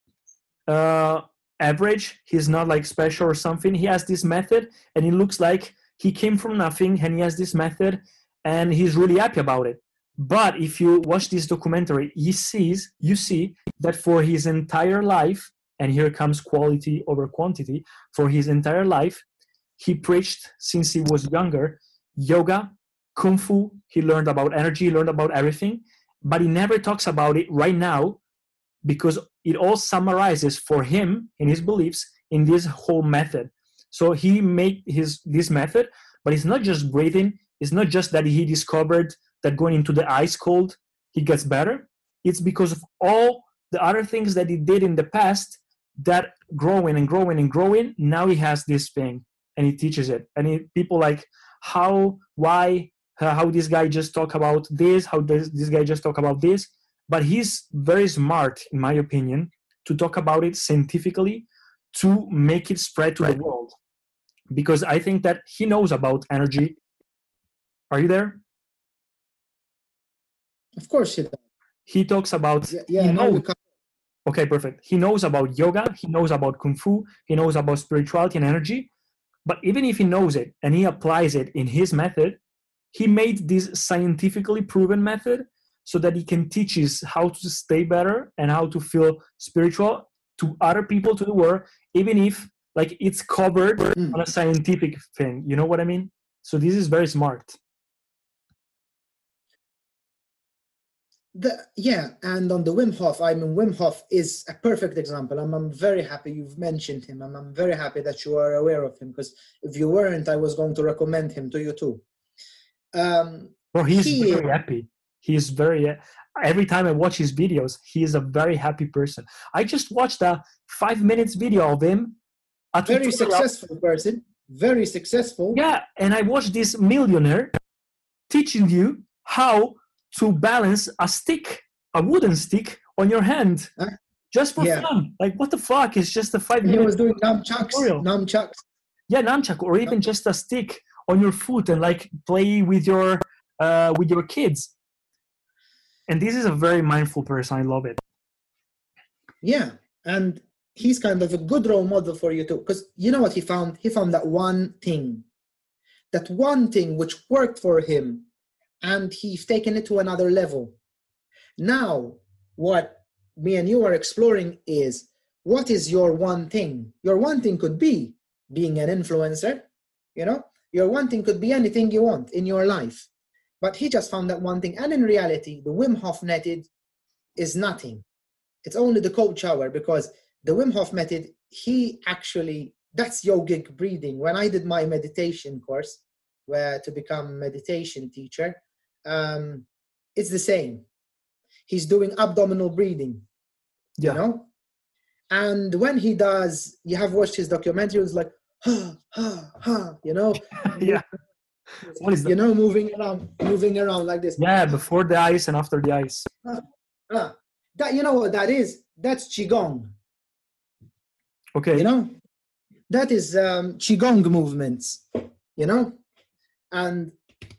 uh average. He's not like special or something. He has this method and it looks like he came from nothing, and he has this method and he's really happy about it. But if you watch this documentary, he sees you see that for his entire life, and here comes quality over quantity, for his entire life he preached since he was younger yoga, kung fu. He learned about energy, he learned about everything, but he never talks about it right now, because it all summarizes for him in his beliefs in this whole method. So he made his this method, but it's not just breathing. It's not just that he discovered that going into the ice cold he gets better. It's because of all the other things that he did in the past that growing and growing and growing. Now he has this thing and he teaches it. And he, people like how, why, how this guy just talk about this, how this, this guy just talk about this. But he's very smart, in my opinion, to talk about it scientifically to make it spread to right. the world. Because I think that he knows about energy. Are you there? Of course he does. He talks about... Yeah, yeah no, okay, perfect. He knows about yoga. He knows about Kung Fu. He knows about spirituality and energy. But even if he knows it and he applies it in his method, he made this scientifically proven method so that he can teach us how to stay better and how to feel spiritual to other people, to the world, even if like it's covered mm. on a scientific thing. You know what I mean? So this is very smart. The, yeah, and on the Wim Hof, I mean, Wim Hof is a perfect example. I'm, I'm very happy you've mentioned him. I'm, I'm very happy that you are aware of him, because if you weren't, I was going to recommend him to you too. Um, Bro, he's he, very happy. He's very, every time I watch his videos, he is a very happy person. I just watched a five minutes video of him. A very successful person, very successful. Yeah, and I watched this millionaire teaching you how to balance a stick, a wooden stick on your hand, huh? just for yeah. fun. Like, what the fuck? It's just a five minute. He was doing nunchucks, nunchucks. Yeah, nunchuck, or even just a stick on your foot and like play with your uh, with your kids. And this is a very mindful person. I love it. Yeah, and he's kind of a good role model for you too, because you know what he found? He found that one thing, that one thing which worked for him. And he's taken it to another level. Now, what me and you are exploring is, what is your one thing? Your one thing could be being an influencer, you know? Your one thing could be anything you want in your life. But he just found that one thing. And in reality, the Wim Hof method is nothing. It's only the cold shower, because the Wim Hof method, he actually, that's yogic breathing. When I did my meditation course, where to become a meditation teacher, um it's the same. He's doing abdominal breathing, yeah. you know, and when he does, you have watched his documentary, it's like ha ha ha, you know. Yeah. What is that? You know, moving around moving around like this. Yeah, before the ice and after the ice. uh, uh, that, you know what that is? That's qigong. Okay. You know, that is um qigong movements, you know, and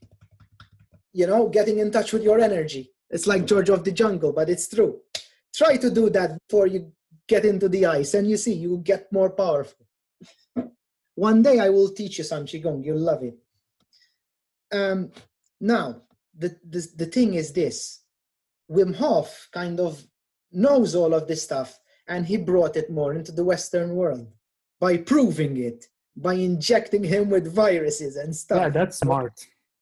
you know, getting in touch with your energy. It's like George of the Jungle, but it's true. Try to do that before you get into the ice, and you see, you will get more powerful. One day I will teach you some qigong. You'll love it. Um, now, the, the, the thing is this. Wim Hof kind of knows all of this stuff, and he brought it more into the Western world by proving it, by injecting him with viruses and stuff. Yeah, that's smart.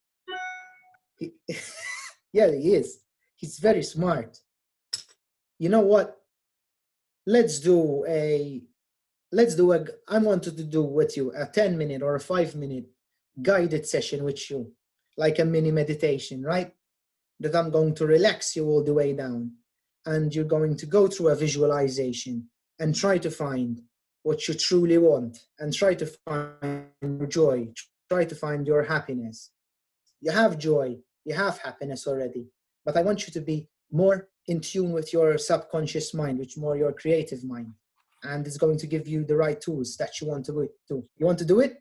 He, yeah, he is. He's very smart. You know what? Let's do a, let's do a, I wanted to do with you a ten minute or a five minute guided session with you, like a mini meditation, right? That I'm going to relax you all the way down. And you're going to go through a visualization and try to find what you truly want, and try to find your joy, try to find your happiness. You have joy, you have happiness already, but I want you to be more in tune with your subconscious mind, which more your creative mind, and it's going to give you the right tools that you want to do. You want to do it?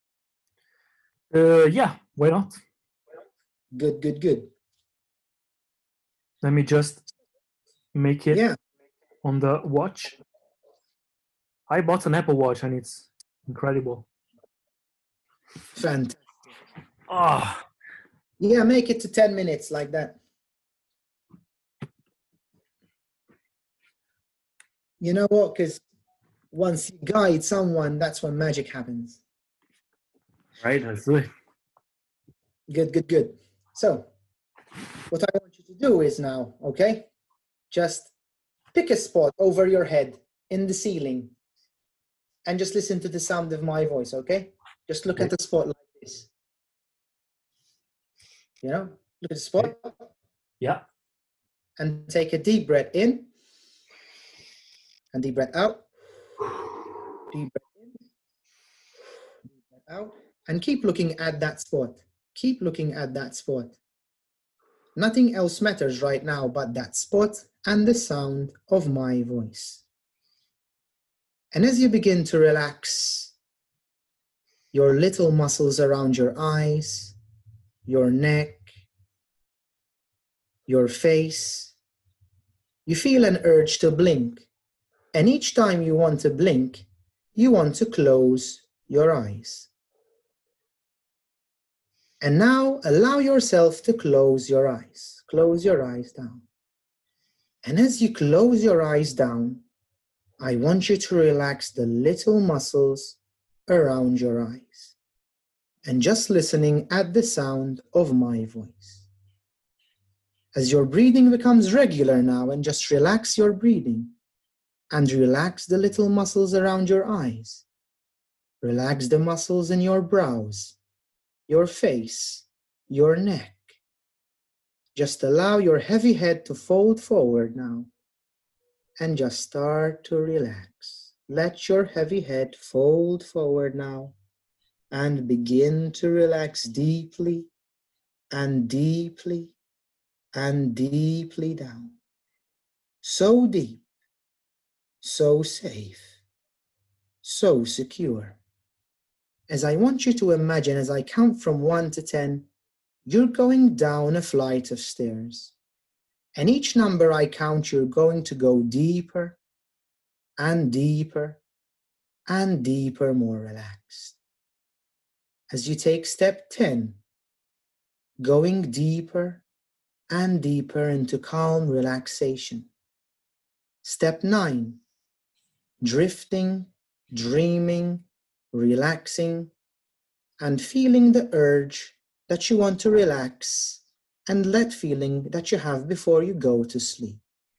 Uh, yeah, why not? Good, good, good. Let me just make it yeah. on the watch. I bought an Apple Watch and it's incredible. Fantastic. Ah. Oh. Yeah, make it to ten minutes like that. You know what? Because once you guide someone, that's when magic happens. Right, that's it. Good, good, good. So, what I want you to do is now, okay? Just pick a spot over your head in the ceiling and just listen to the sound of my voice, okay? Just look at the spot like this. You know, look at the spot. Yeah. And take a deep breath in and deep breath out. Deep breath in, deep breath out. And keep looking at that spot. Keep looking at that spot. Nothing else matters right now but that spot and the sound of my voice. And as you begin to relax your little muscles around your eyes, your neck, your face, you feel an urge to blink. And each time you want to blink, you want to close your eyes. And now allow yourself to close your eyes. Close your eyes down. And as you close your eyes down, I want you to relax the little muscles around your eyes. And just listening at the sound of my voice. As your breathing becomes regular now, and just relax your breathing. And relax the little muscles around your eyes. Relax the muscles in your brows, your face, your neck. Just allow your heavy head to fold forward now. And just start to relax. Let your heavy head fold forward now. And begin to relax deeply and deeply and deeply down. So deep. So safe, so secure. As I want you to imagine, as I count from one to ten, you're going down a flight of stairs. And each number I count, you're going to go deeper and deeper and deeper, more relaxed. As you take step ten, going deeper and deeper into calm relaxation. Step nine, drifting, dreaming, relaxing, and feeling the urge that you want to relax and let feeling that you have before you go to sleep.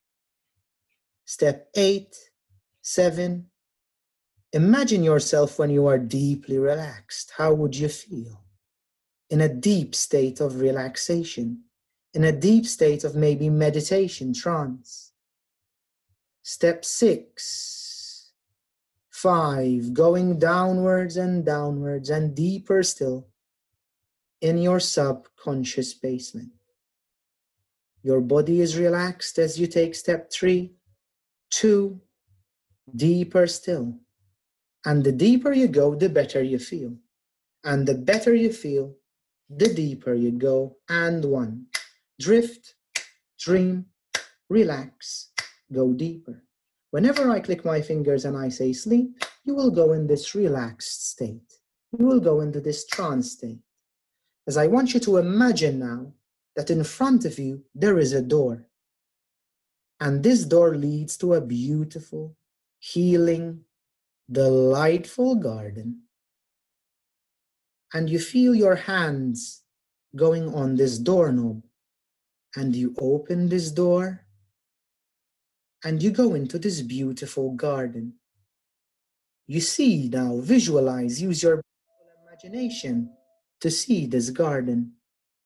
Step eight, seven, imagine yourself when you are deeply relaxed. How would you feel? In a deep state of relaxation, in a deep state of maybe meditation, trance. Step six, five, going downwards and downwards and deeper still in your subconscious basement. Your body is relaxed as you take step three, two, deeper still. And the deeper you go, the better you feel. And the better you feel, the deeper you go. And one, drift, dream, relax. Go deeper. Whenever I click my fingers and I say sleep, you will go in this relaxed state. You will go into this trance state. As I want you to imagine now that in front of you there is a door. And this door leads to a beautiful, healing, delightful garden. And you feel your hands going on this doorknob. And you open this door. And you go into this beautiful garden. You see now, visualize, use your imagination to see this garden.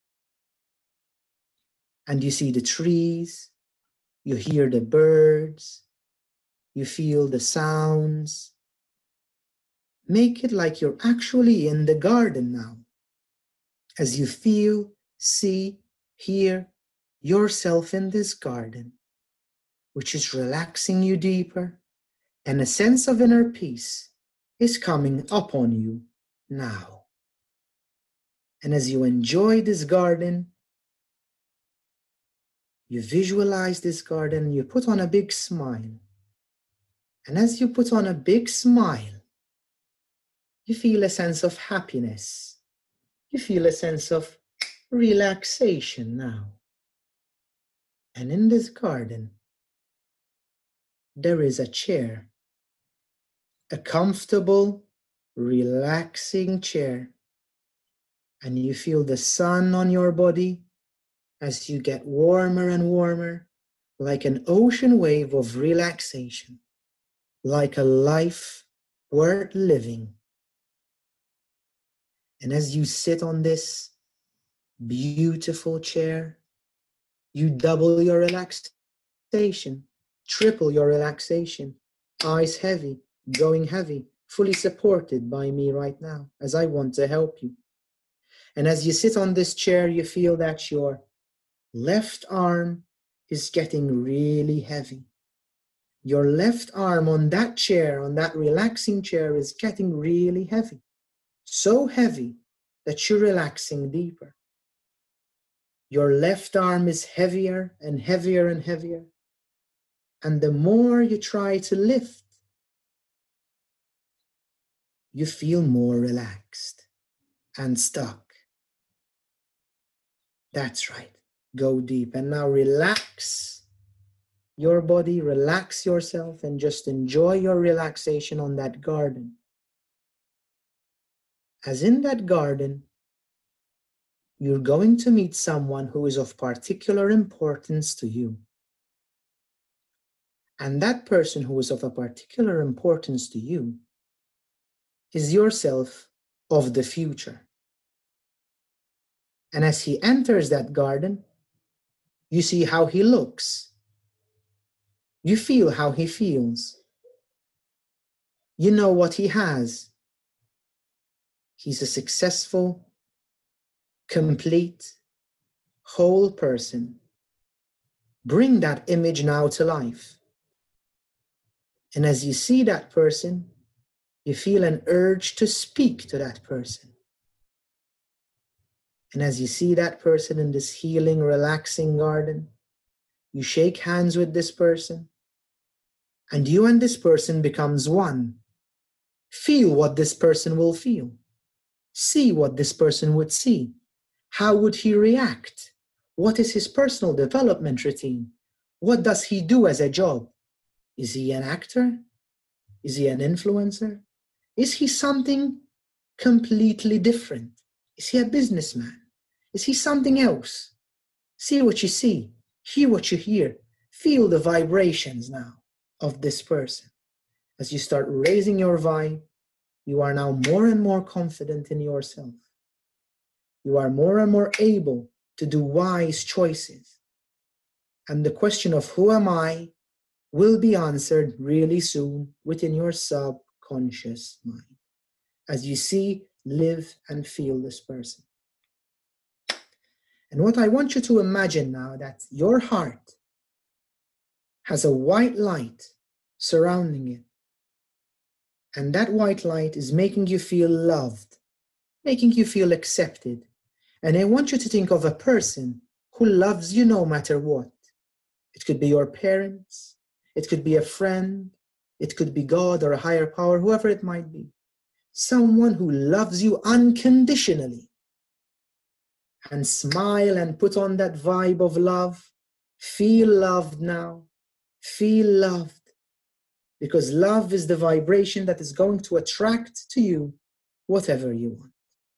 And you see the trees, you hear the birds, you feel the sounds. Make it like you're actually in the garden now. As you feel, see, hear yourself in this garden, which is relaxing you deeper, and a sense of inner peace is coming upon you now. And as you enjoy this garden, you visualize this garden, you put on a big smile. And as you put on a big smile, you feel a sense of happiness. You feel a sense of relaxation now. And in this garden, there is a chair, a comfortable, relaxing chair. And you feel the sun on your body as you get warmer and warmer, like an ocean wave of relaxation, like a life worth living. And as you sit on this beautiful chair, you double your relaxation, triple your relaxation, eyes heavy, going heavy, fully supported by me right now as I want to help you. And as you sit on this chair, you feel that your left arm is getting really heavy. Your left arm on that chair, on that relaxing chair, is getting really heavy. So heavy that you're relaxing deeper. Your left arm is heavier and heavier and heavier. And the more you try to lift, you feel more relaxed and stuck. That's right. Go deep. And now relax your body, relax yourself, and just enjoy your relaxation on that garden. As in that garden, you're going to meet someone who is of particular importance to you. And that person who is of a particular importance to you is yourself of the future. And as he enters that garden, you see how he looks. You feel how he feels. You know what he has. He's a successful, complete, whole person. Bring that image now to life. And as you see that person, you feel an urge to speak to that person. And as you see that person in this healing, relaxing garden, you shake hands with this person, and you and this person becomes one. Feel what this person will feel. See what this person would see. How would he react? What is his personal development routine? What does he do as a job? Is he an actor? Is he an influencer? Is he something completely different? Is he a businessman? Is he something else? See what you see. Hear what you hear. Feel the vibrations now of this person. As you start raising your vibe, you are now more and more confident in yourself. You are more and more able to do wise choices. And the question of who am I will be answered really soon within your subconscious mind. As you see, live, and feel this person. And what I want you to imagine now, that your heart has a white light surrounding it. And that white light is making you feel loved, making you feel accepted. And I want you to think of a person who loves you no matter what. It could be your parents, it could be a friend, it could be God or a higher power, whoever it might be. Someone who loves you unconditionally. And smile and put on that vibe of love. Feel loved now. Feel loved. Because love is the vibration that is going to attract to you whatever you want.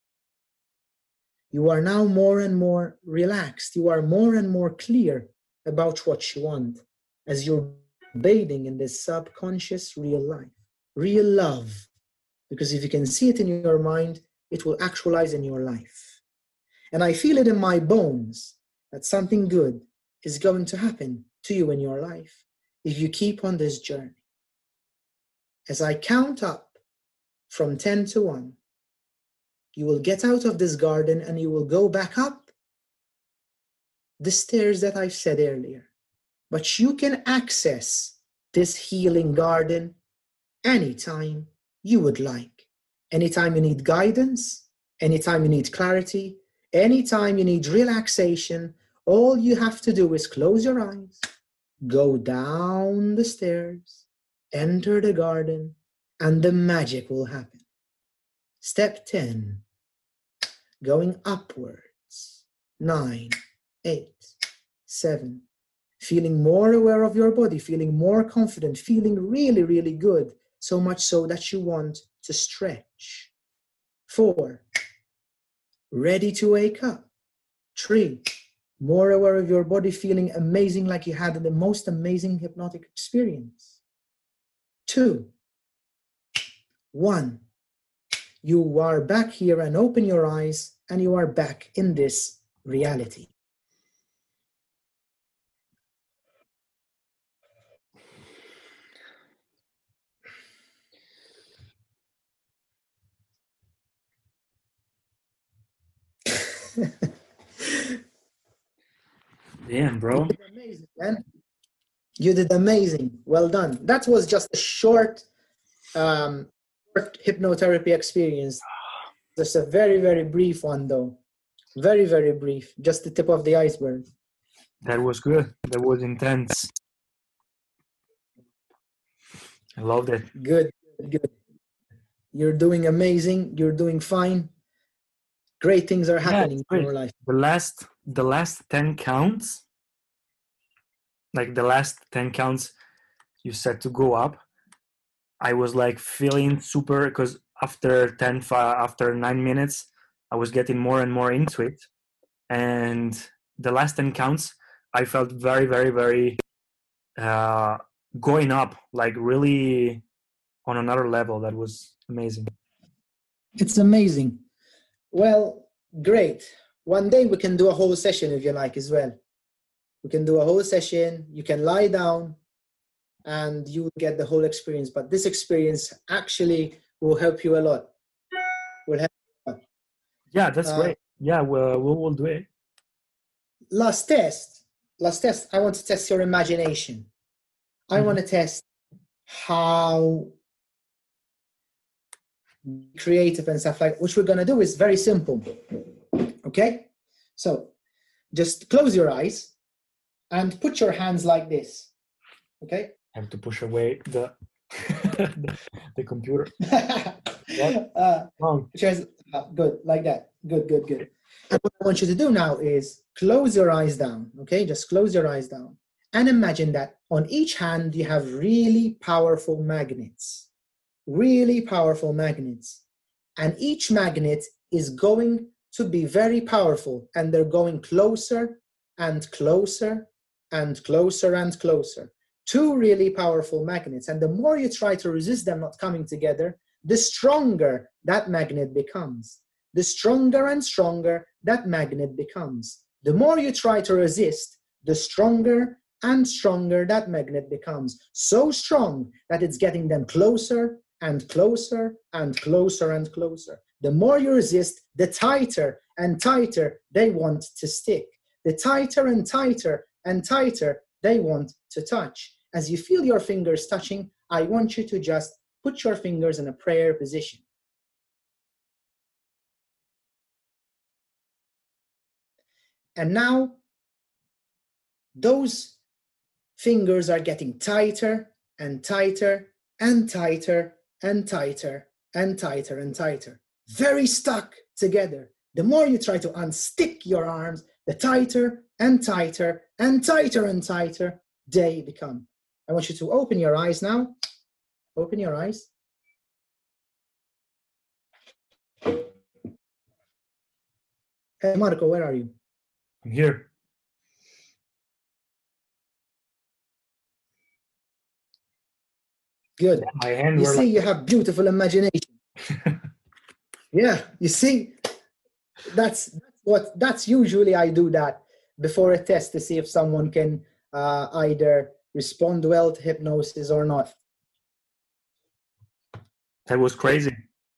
You are now more and more relaxed. You are more and more clear about what you want as you're bathing in this subconscious real life, real love. Because if you can see it in your mind, it will actualize in your life. And I feel it in my bones that something good is going to happen to you in your life if you keep on this journey. As I count up from ten to one, you will get out of this garden and you will go back up the stairs that I said earlier. But you can access this healing garden anytime you would like. Anytime you need guidance, anytime you need clarity, anytime you need relaxation, all you have to do is close your eyes, go down the stairs, enter the garden, and the magic will happen. Step ten, going upwards. Nine, eight, seven, feeling more aware of your body, feeling more confident, feeling really, really good, so much so that you want to stretch. Four, ready to wake up. Three, more aware of your body, feeling amazing, like you had the most amazing hypnotic experience. Two, one, you are back here, and open your eyes and you are back in this reality. Damn, bro. Amazing, man. You did amazing. Well done. That was just a short, um, short hypnotherapy experience. Just a very, very brief one, though. Very, very brief. Just the tip of the iceberg. That was good. That was intense. I loved it. Good, good. You're doing amazing. You're doing fine. Great things are happening yeah, in your life. The last, the last ten counts, like the last ten counts you said to go up, I was like feeling super, because after ten, after nine minutes, I was getting more and more into it. And the last ten counts, I felt very, very, very uh, going up, like really on another level. That was amazing. It's amazing. Well, great. One day we can do a whole session if you like as well. We can do a whole session. You can lie down and you will get the whole experience. But this experience actually will help you a lot. Will help you a lot. Yeah, that's uh, great. Yeah, well, we will do it. Last test. Last test. I want to test your imagination. I mm-hmm. want to test how creative and stuff like, which we're going to do is very simple. Okay? So just close your eyes and put your hands like this. Okay? I have to push away the the, the computer. uh, just, uh, good, like that. Good, good, good. And what I want you to do now is close your eyes down. Okay? Just close your eyes down. And imagine that on each hand you have really powerful magnets. Really powerful magnets. And each magnet is going to be very powerful, and they're going closer and closer and closer and closer. Two really powerful magnets. And the more you try to resist them not coming together, the stronger that magnet becomes. The stronger and stronger that magnet becomes. The more you try to resist, the stronger and stronger that magnet becomes. So strong that it's getting them closer and closer and closer and closer. The more you resist, the tighter and tighter they want to stick. The tighter and tighter and tighter they want to touch. As you feel your fingers touching, I want you to just put your fingers in a prayer position. And now, those fingers are getting tighter and tighter and tighter and tighter and tighter and tighter. Very stuck together. The more you try to unstick your arms, the tighter and tighter and tighter and tighter they become. I want you to open your eyes now. Open your eyes. Hey, Marco, where are you? I'm here. Good. My hand you see, like... you have beautiful imagination. Yeah, you see, that's, that's what, that's usually I do that before a test to see if someone can uh, either respond well to hypnosis or not. That was crazy.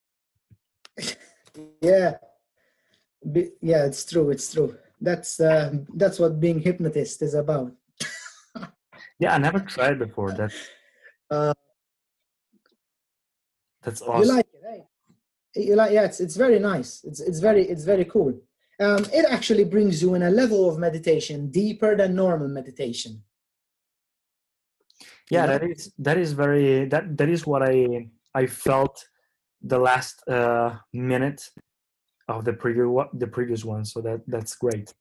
Yeah. Be, yeah, it's true. It's true. That's uh, that's what being hypnotist is about. Yeah, I never tried before. That. Uh, that's awesome. You like it, eh? You like? Yeah, it's it's very nice. It's it's very it's very cool. Um, it actually brings you in a level of meditation deeper than normal meditation. Yeah, that is that is very that that is what I I felt the last uh, minute of the previous the previous one. So that that's great.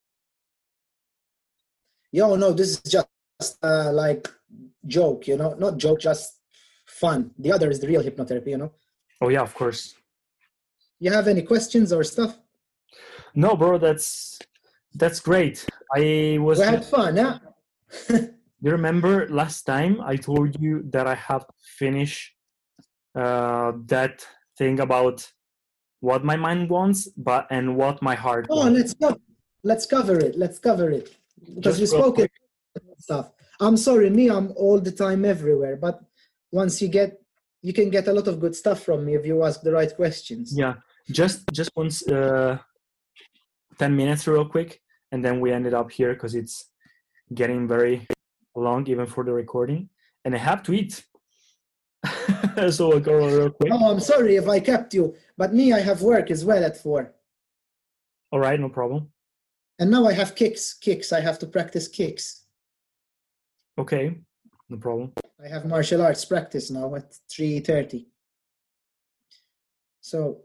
Yo, no, this is just uh, like joke, you know, not joke, just fun. The other is the real hypnotherapy, you know. Oh yeah, of course. You have any questions or stuff? No, bro, that's that's great. I was. We had fun, yeah. You remember last time I told you that I have to finish uh, that thing about what my mind wants, but and what my heart oh, wants. let's go. Let's cover it. Let's cover it. Because Just we spoke it stuff. I'm sorry, me, I'm all the time everywhere. But once you get, you can get a lot of good stuff from me if you ask the right questions. Yeah, just just once, uh, ten minutes real quick, and then we ended up here because it's getting very long even for the recording, and I have to eat. So I'll go real quick. Oh, I'm sorry if I kept you, but me, I have work as well at four. All right, no problem. And now I have kicks, kicks. I have to practice kicks. Okay, no problem. I have martial arts practice now at three thirty. So,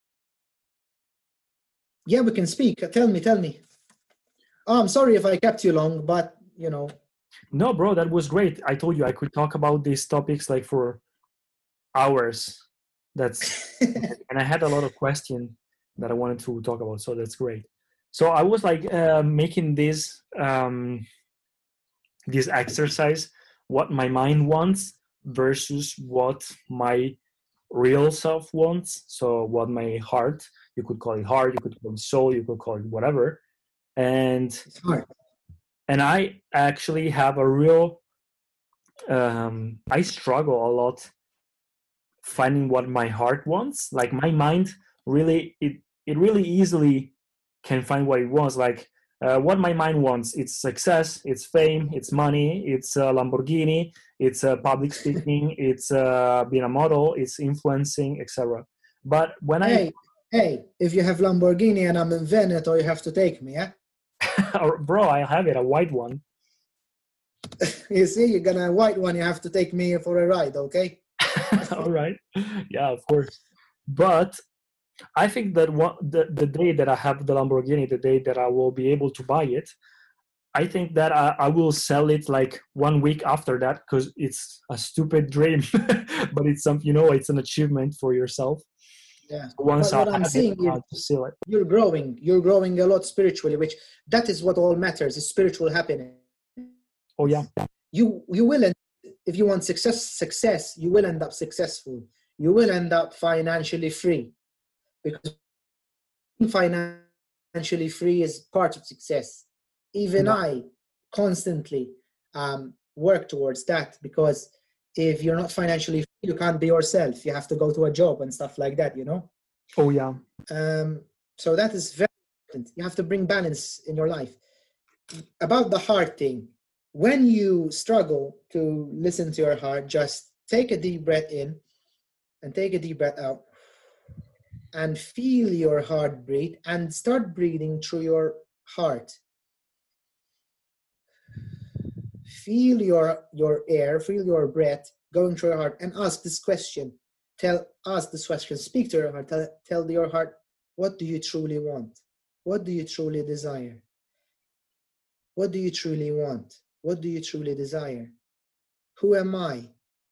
yeah, we can speak. Tell me, tell me. Oh, I'm sorry if I kept you long, but, you know. No, bro, that was great. I told you I could talk about these topics like for hours. That's and I had a lot of questions that I wanted to talk about, so that's great. So I was like uh, making this um, this exercise, what my mind wants versus what my real self wants. So what my heart, you could call it heart, you could call it soul, you could call it whatever. And it's hard. And I actually have a real, um, I struggle a lot finding what my heart wants. Like my mind really, it, it really easily can find what it wants. Like uh, what my mind wants, it's success, it's fame, it's money, it's a Lamborghini, it's uh, public speaking, it's uh, being a model, it's influencing, et cetera. But when hey, I... Hey, if you have Lamborghini and I'm in Veneto, you have to take me, yeah? Bro, I have it, a white one. You see, you're gonna white one, you have to take me for a ride, okay? All right. Yeah, of course. But I think that one, the, the day that I have the Lamborghini, the day that I will be able to buy it, I think that I, I will sell it like one week after that, because it's a stupid dream, but it's some, you know, it's an achievement for yourself. Yeah. Once but what I I'm have saying it, is I'll just sell it. You're growing. You're growing a lot spiritually, which that is what all matters, is spiritual happiness. Oh yeah. You you will end, if you want success success, you will end up successful. You will end up financially free, because financially free is part of success. Even Yeah. I constantly um, work towards that, because if you're not financially free, you can't be yourself. You have to go to a job and stuff like that, you know? Oh yeah. Um, so that is very important. You have to bring balance in your life. About the heart thing, when you struggle to listen to your heart, just take a deep breath in and take a deep breath out and feel your heart breathe, and start breathing through your heart. Feel your, your air, feel your breath going through your heart, and ask this question. Tell, ask this question, speak to your heart, tell, tell your heart, what do you truly want? What do you truly desire? What do you truly want? What do you truly desire? Who am I?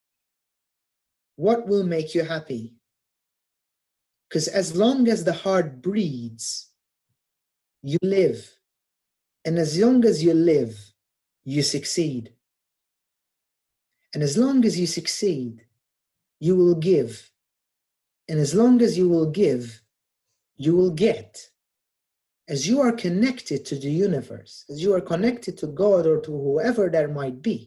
What will make you happy? Because as long as the heart breathes, you live. And as long as you live, you succeed. And as long as you succeed, you will give. And as long as you will give, you will get. As you are connected to the universe, as you are connected to God or to whoever there might be,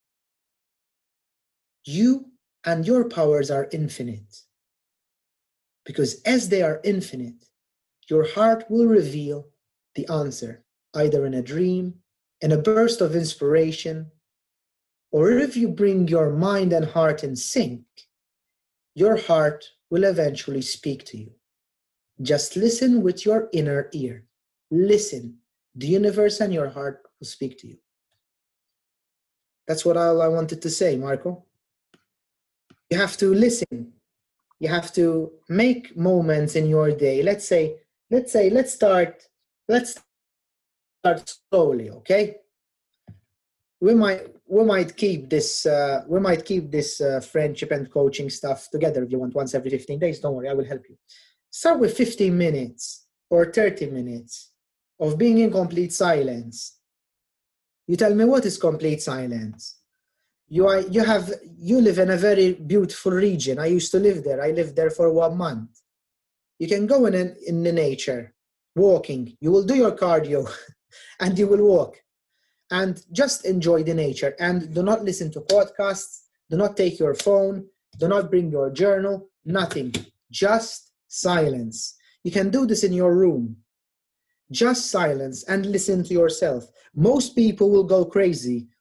you and your powers are infinite. Because as they are infinite, your heart will reveal the answer, either in a dream, in a burst of inspiration, or if you bring your mind and heart in sync, your heart will eventually speak to you. Just listen with your inner ear. Listen. The universe and your heart will speak to you. That's what all I wanted to say, Marco. You have to listen. You have to make moments in your day. Let's say, let's say, let's start, let's start slowly, okay? We might, we might keep this, uh, we might keep this uh, friendship and coaching stuff together if you want, once every fifteen days. Don't worry, I will help you. Start with fifteen minutes or thirty minutes of being in complete silence. You tell me, what is complete silence? You are, you have, you live in a very beautiful region. I used to live there. I lived there for one month. You can go in, an, in the nature, walking. You will do your cardio and you will walk and just enjoy the nature, and do not listen to podcasts. Do not take your phone. Do not bring your journal, nothing. Just silence. You can do this in your room. Just silence and listen to yourself. Most people will go crazy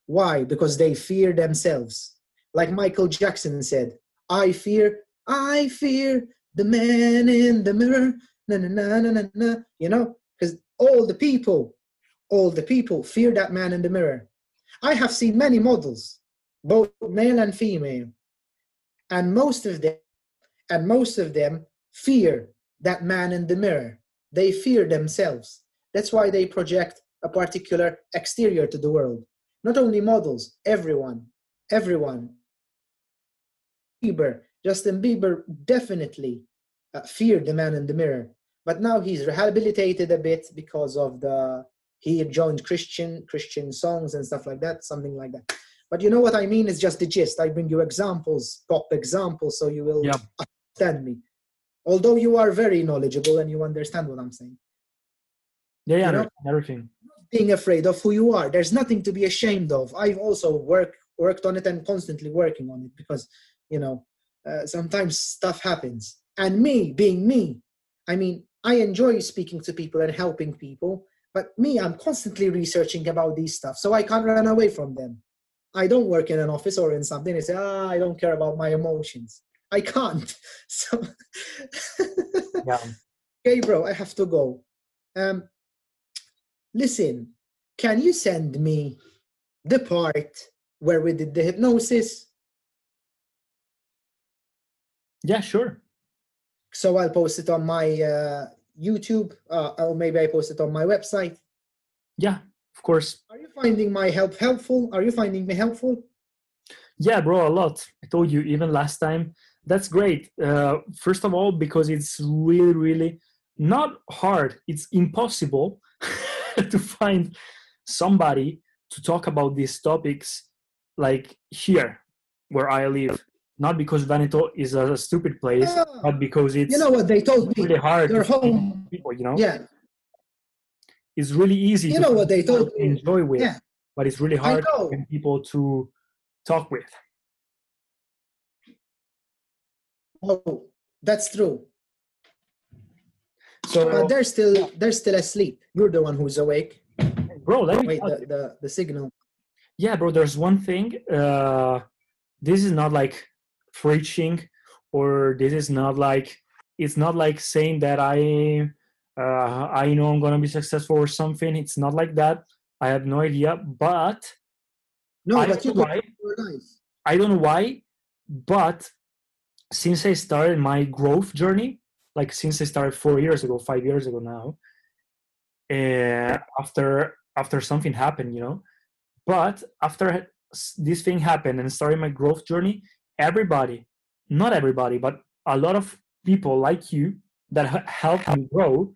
Why? Because they fear themselves. Like Michael Jackson said, I fear, I fear the man in the mirror. Na, na, na, na, na, na. You know, because all the people, all the people fear that man in the mirror. I have seen many models, both male and female, and most of them, and most of them fear that man in the mirror. They fear themselves. That's why they project a particular exterior to the world. Not only models, everyone, everyone. Bieber, Justin Bieber definitely uh, feared the man in the mirror, but now he's rehabilitated a bit because of the, he joined Christian, Christian songs and stuff like that, something like that. But you know what I mean? It's just the gist. I bring you examples, pop examples, so you will Yeah. understand me. Although you are very knowledgeable and you understand what I'm saying. Yeah, yeah, You know? everything. Being afraid of who you are. There's nothing to be ashamed of. I've also worked worked on it and constantly working on it because, you know, uh, sometimes stuff happens. And me, being me, I mean, I enjoy speaking to people and helping people, but me, I'm constantly researching about these stuff, so I can't run away from them. I don't work in an office or in something and say, ah, I don't care about my emotions. I can't. So, Yeah. okay, bro, I have to go. Um, listen, can you send me the part where we did the hypnosis? Yeah, sure. So I'll post it on my uh, YouTube, uh, or maybe I post it on my website. Yeah, of course. Are you finding my help helpful? Are you finding me helpful? Yeah, bro, a lot. I told you even last time. That's great. Uh, first of all, because it's really, really not hard. It's impossible to find somebody to talk about these topics like here where I live. Not because Veneto is a stupid place, Ah, but because it's you know what they told me? really hard Their to find home. people, you know? Yeah. It's really easy You to know find what they people told to me? enjoy with, Yeah. but it's really I hard to know. find people to talk with. Oh, that's true. So, But they're still they're still asleep. You're the one who's awake. bro, let me Wait, tell the, you. the, the signal. Yeah, bro, there's one thing. Uh, this is not like preaching, or this is not like, it's not like saying that I, uh, I know I'm gonna be successful or something. It's not like that. I have no idea, but No, I but don't you know could why. your life. I don't know why, but since I started my growth journey, like since I started four years ago, five years ago now, uh, after after something happened, you know. But after this thing happened and starting my growth journey, everybody, not everybody, but a lot of people like you that helped me grow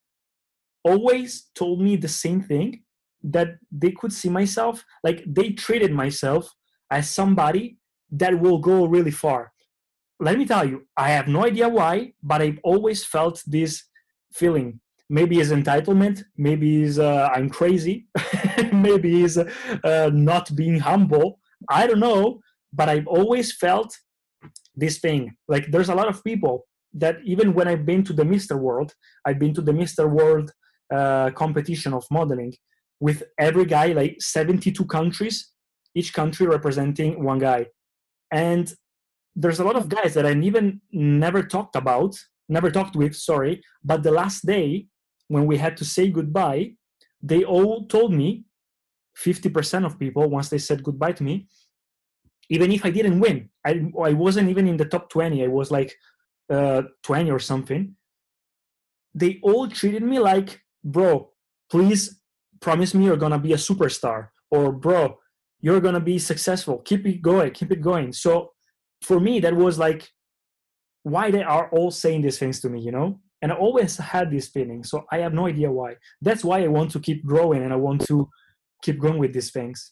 always told me the same thing, that they could see myself, like they treated myself as somebody that will go really far. Let me tell you, I have no idea why, but I've always felt this feeling. Maybe it's entitlement, maybe it's uh, I'm crazy, maybe it's uh, not being humble. I don't know, but I've always felt this thing. Like there's a lot of people that even when I've been to the Mister World, I've been to the Mister World uh, competition of modeling with every guy, like seventy-two countries, each country representing one guy. And there's a lot of guys that I even never talked about, never talked with, sorry, but the last day when we had to say goodbye, they all told me, fifty percent of people, once they said goodbye to me, even if I didn't win, I, I wasn't even in the top twenty, I was like uh, twenty or something, they all treated me like, bro, please promise me you're gonna be a superstar, or bro, you're gonna be successful, keep it going, keep it going. So for me, that was like, why they are all saying these things to me, you know? And I always had this feeling, so I have no idea why. That's why I want to keep growing and I want to keep going with these things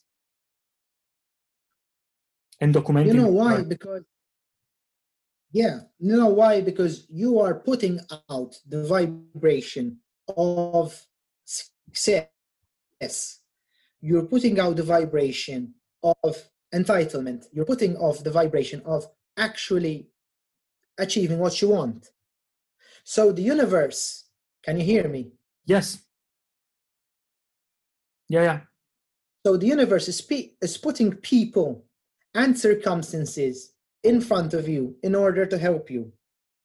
and documenting. You know why? Because, yeah, you know why? Because you are putting out the vibration of success. You're putting out the vibration of entitlement. You're putting off the vibration of actually achieving what you want. So the universe, can you hear me? Yes. Yeah, yeah. So the universe is, pe- is putting people and circumstances in front of you in order to help you.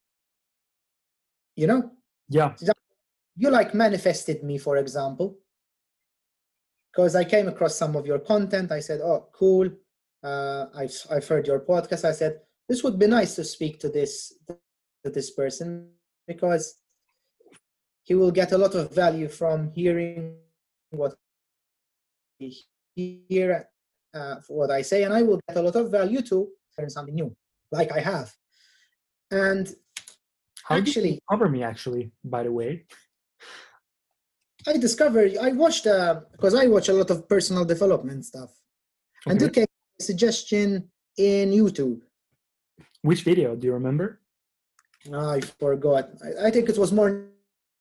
You know? Yeah. You like manifested me, for example, because I came across some of your content. I said, oh, cool. Uh, I've, I've heard your podcast. I said, this would be nice to speak to this, to this person, because he will get a lot of value from hearing what he hear, uh, what I say, and I will get a lot of value to learn something new, like I have. And How actually, did you cover me, actually, by the way? I discovered, I watched, uh, because I watch a lot of personal development stuff. Okay. And you came a suggestion in YouTube. Which video? Do you remember? Oh, I forgot. I, I think it was more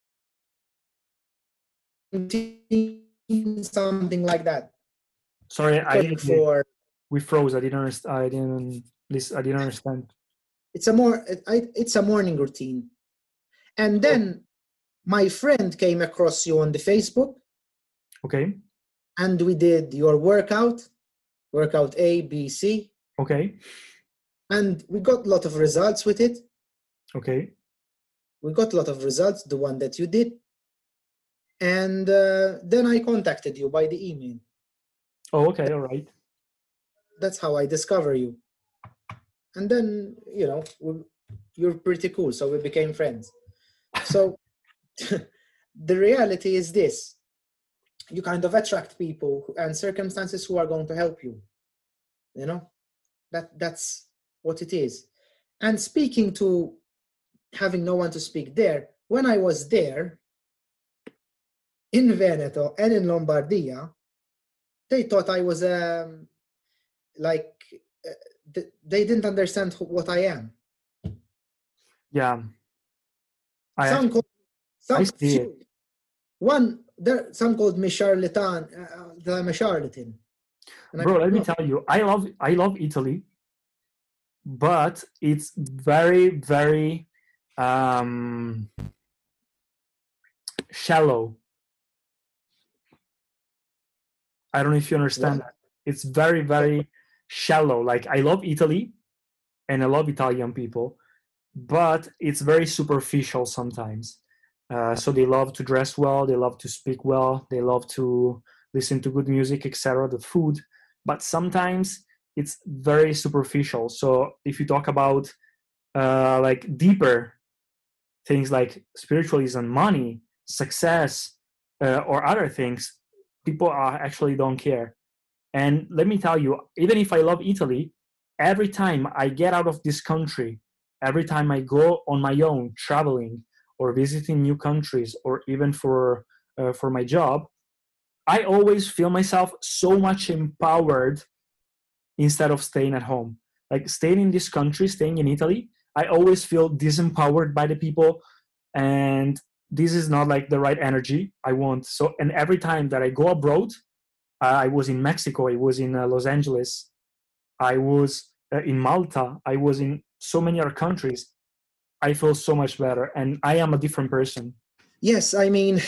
something like that. Sorry, I didn't. For we froze. I didn't understand. I didn't listen. I didn't understand. It's a more. I, it's a morning routine, and then my friend came across you on the Facebook. Okay. And we did your workout, workout A, B, C. Okay. And we got a lot of results with it. Okay. We got a lot of results, the one that you did. And uh, then I contacted you by the email. Oh, okay. All right. That's how I discover you. And then, you know, we, you're pretty cool. So we became friends. So the reality is this. You kind of attract people and circumstances who are going to help you. You know, that that's what it is. And speaking to having no one to speak there, when I was there in Veneto and in Lombardia, they thought I was um, like, uh, th- they didn't understand who, what I am. Yeah. I some called, some I see few, it. One, there, some called me charlatan, uh, that I'm a charlatan. And Bro, I, let me no. tell you, I love I love Italy, but it's very, very um, shallow. I don't know if you understand What? that. It's very, very shallow. Like, I love Italy and I love Italian people, but it's very superficial sometimes. Uh, so they love to dress well, they love to speak well, they love to listen to good music, et cetera, the food, but sometimes it's very superficial. So if you talk about uh, like deeper things like spiritualism, money, success, uh, or other things, people are actually don't care. And let me tell you, even if I love Italy, every time I get out of this country, every time I go on my own traveling or visiting new countries, or even for uh, for my job, I always feel myself so much empowered instead of staying at home. Like, staying in this country, staying in Italy, I always feel disempowered by the people, and this is not like the right energy I want. So, and every time that I go abroad, uh, I was in Mexico, I was in uh, Los Angeles, I was uh, in Malta, I was in so many other countries, I feel so much better, and I am a different person. Yes, I mean,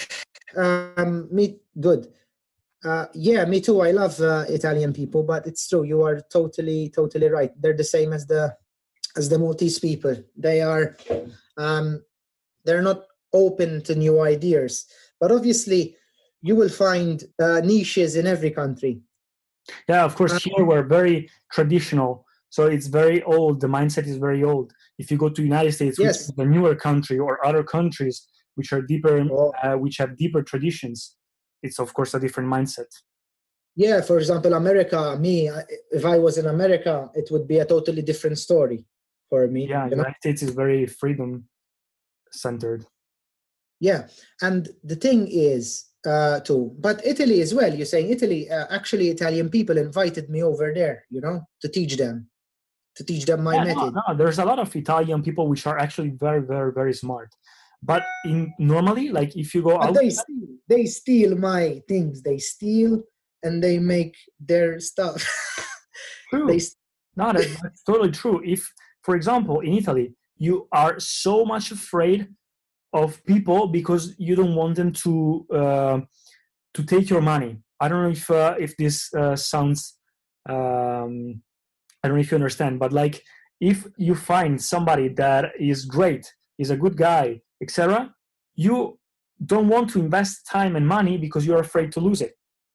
um, me good. Uh, yeah, me too. I love uh, Italian people, but it's true. You are totally, totally right. They're the same as the as the Maltese people. They are, um, they're not open to new ideas. But obviously, you will find uh, niches in every country. Yeah, of course. Here we're very traditional, so it's very old. The mindset is very old. If you go to United States, which Yes. is a newer country, or other countries which are deeper, Oh. uh, which have deeper traditions, it's of course a different mindset. Yeah, for example, America, me, I- if I was in America, it would be a totally different story for me. Yeah, you know? United States is very freedom centered. Yeah, and the thing is, uh, too, but Italy as well. You're saying Italy, uh, actually, Italian people invited me over there, you know, to teach them, to teach them my Yeah, no, method. no, there's a lot of Italian people which are actually very, very, very smart. But in normally, like if you go But out, they steal, they steal my things. They steal and they make their stuff. true. They st- No, that, that's totally true. If, for example, in Italy, you are so much afraid of people because you don't want them to uh, to take your money. I don't know if uh, if this uh, sounds, um, I don't know if you understand, but like if you find somebody that is great, is a good guy, et cetera, you don't want to invest time and money because you're afraid to lose it.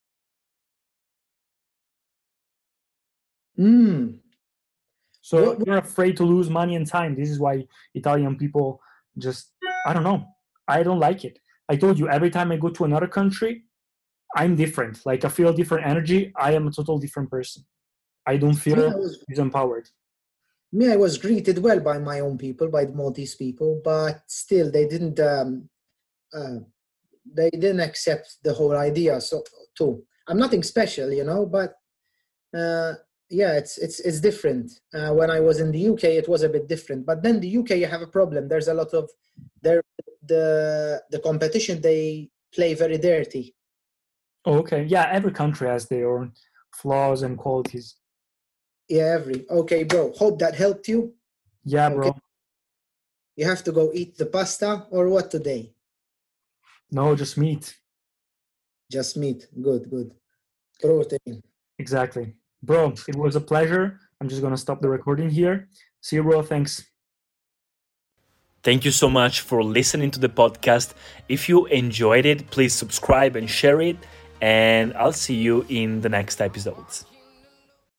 Mm. So What- you're afraid to lose money and time. This is why Italian people just, I don't know. I don't like it. I told you, every time I go to another country, I'm different. Like I feel different energy. I am a total different person. I don't feel Me, I was, disempowered. me, I was greeted well by my own people, by the Maltese people, but still they didn't um, uh, they didn't accept the whole idea. So too, I'm nothing special, you know, but uh, yeah, it's it's it's different. Uh, when I was in the U K, it was a bit different. But then the U K, you have a problem. There's a lot of there the the competition. They play very dirty. Oh, okay. Yeah, every country has their own flaws and qualities. Yeah, every okay, bro. Hope that helped you. Yeah, bro. Okay. You have to go eat the pasta or what today? No, just meat. Just meat. Good, good. Protein. Exactly. Bro, it was a pleasure. I'm just going to stop the recording here. See you, bro. Thanks. Thank you so much for listening to the podcast. If you enjoyed it, please subscribe and share it. And I'll see you in the next episodes.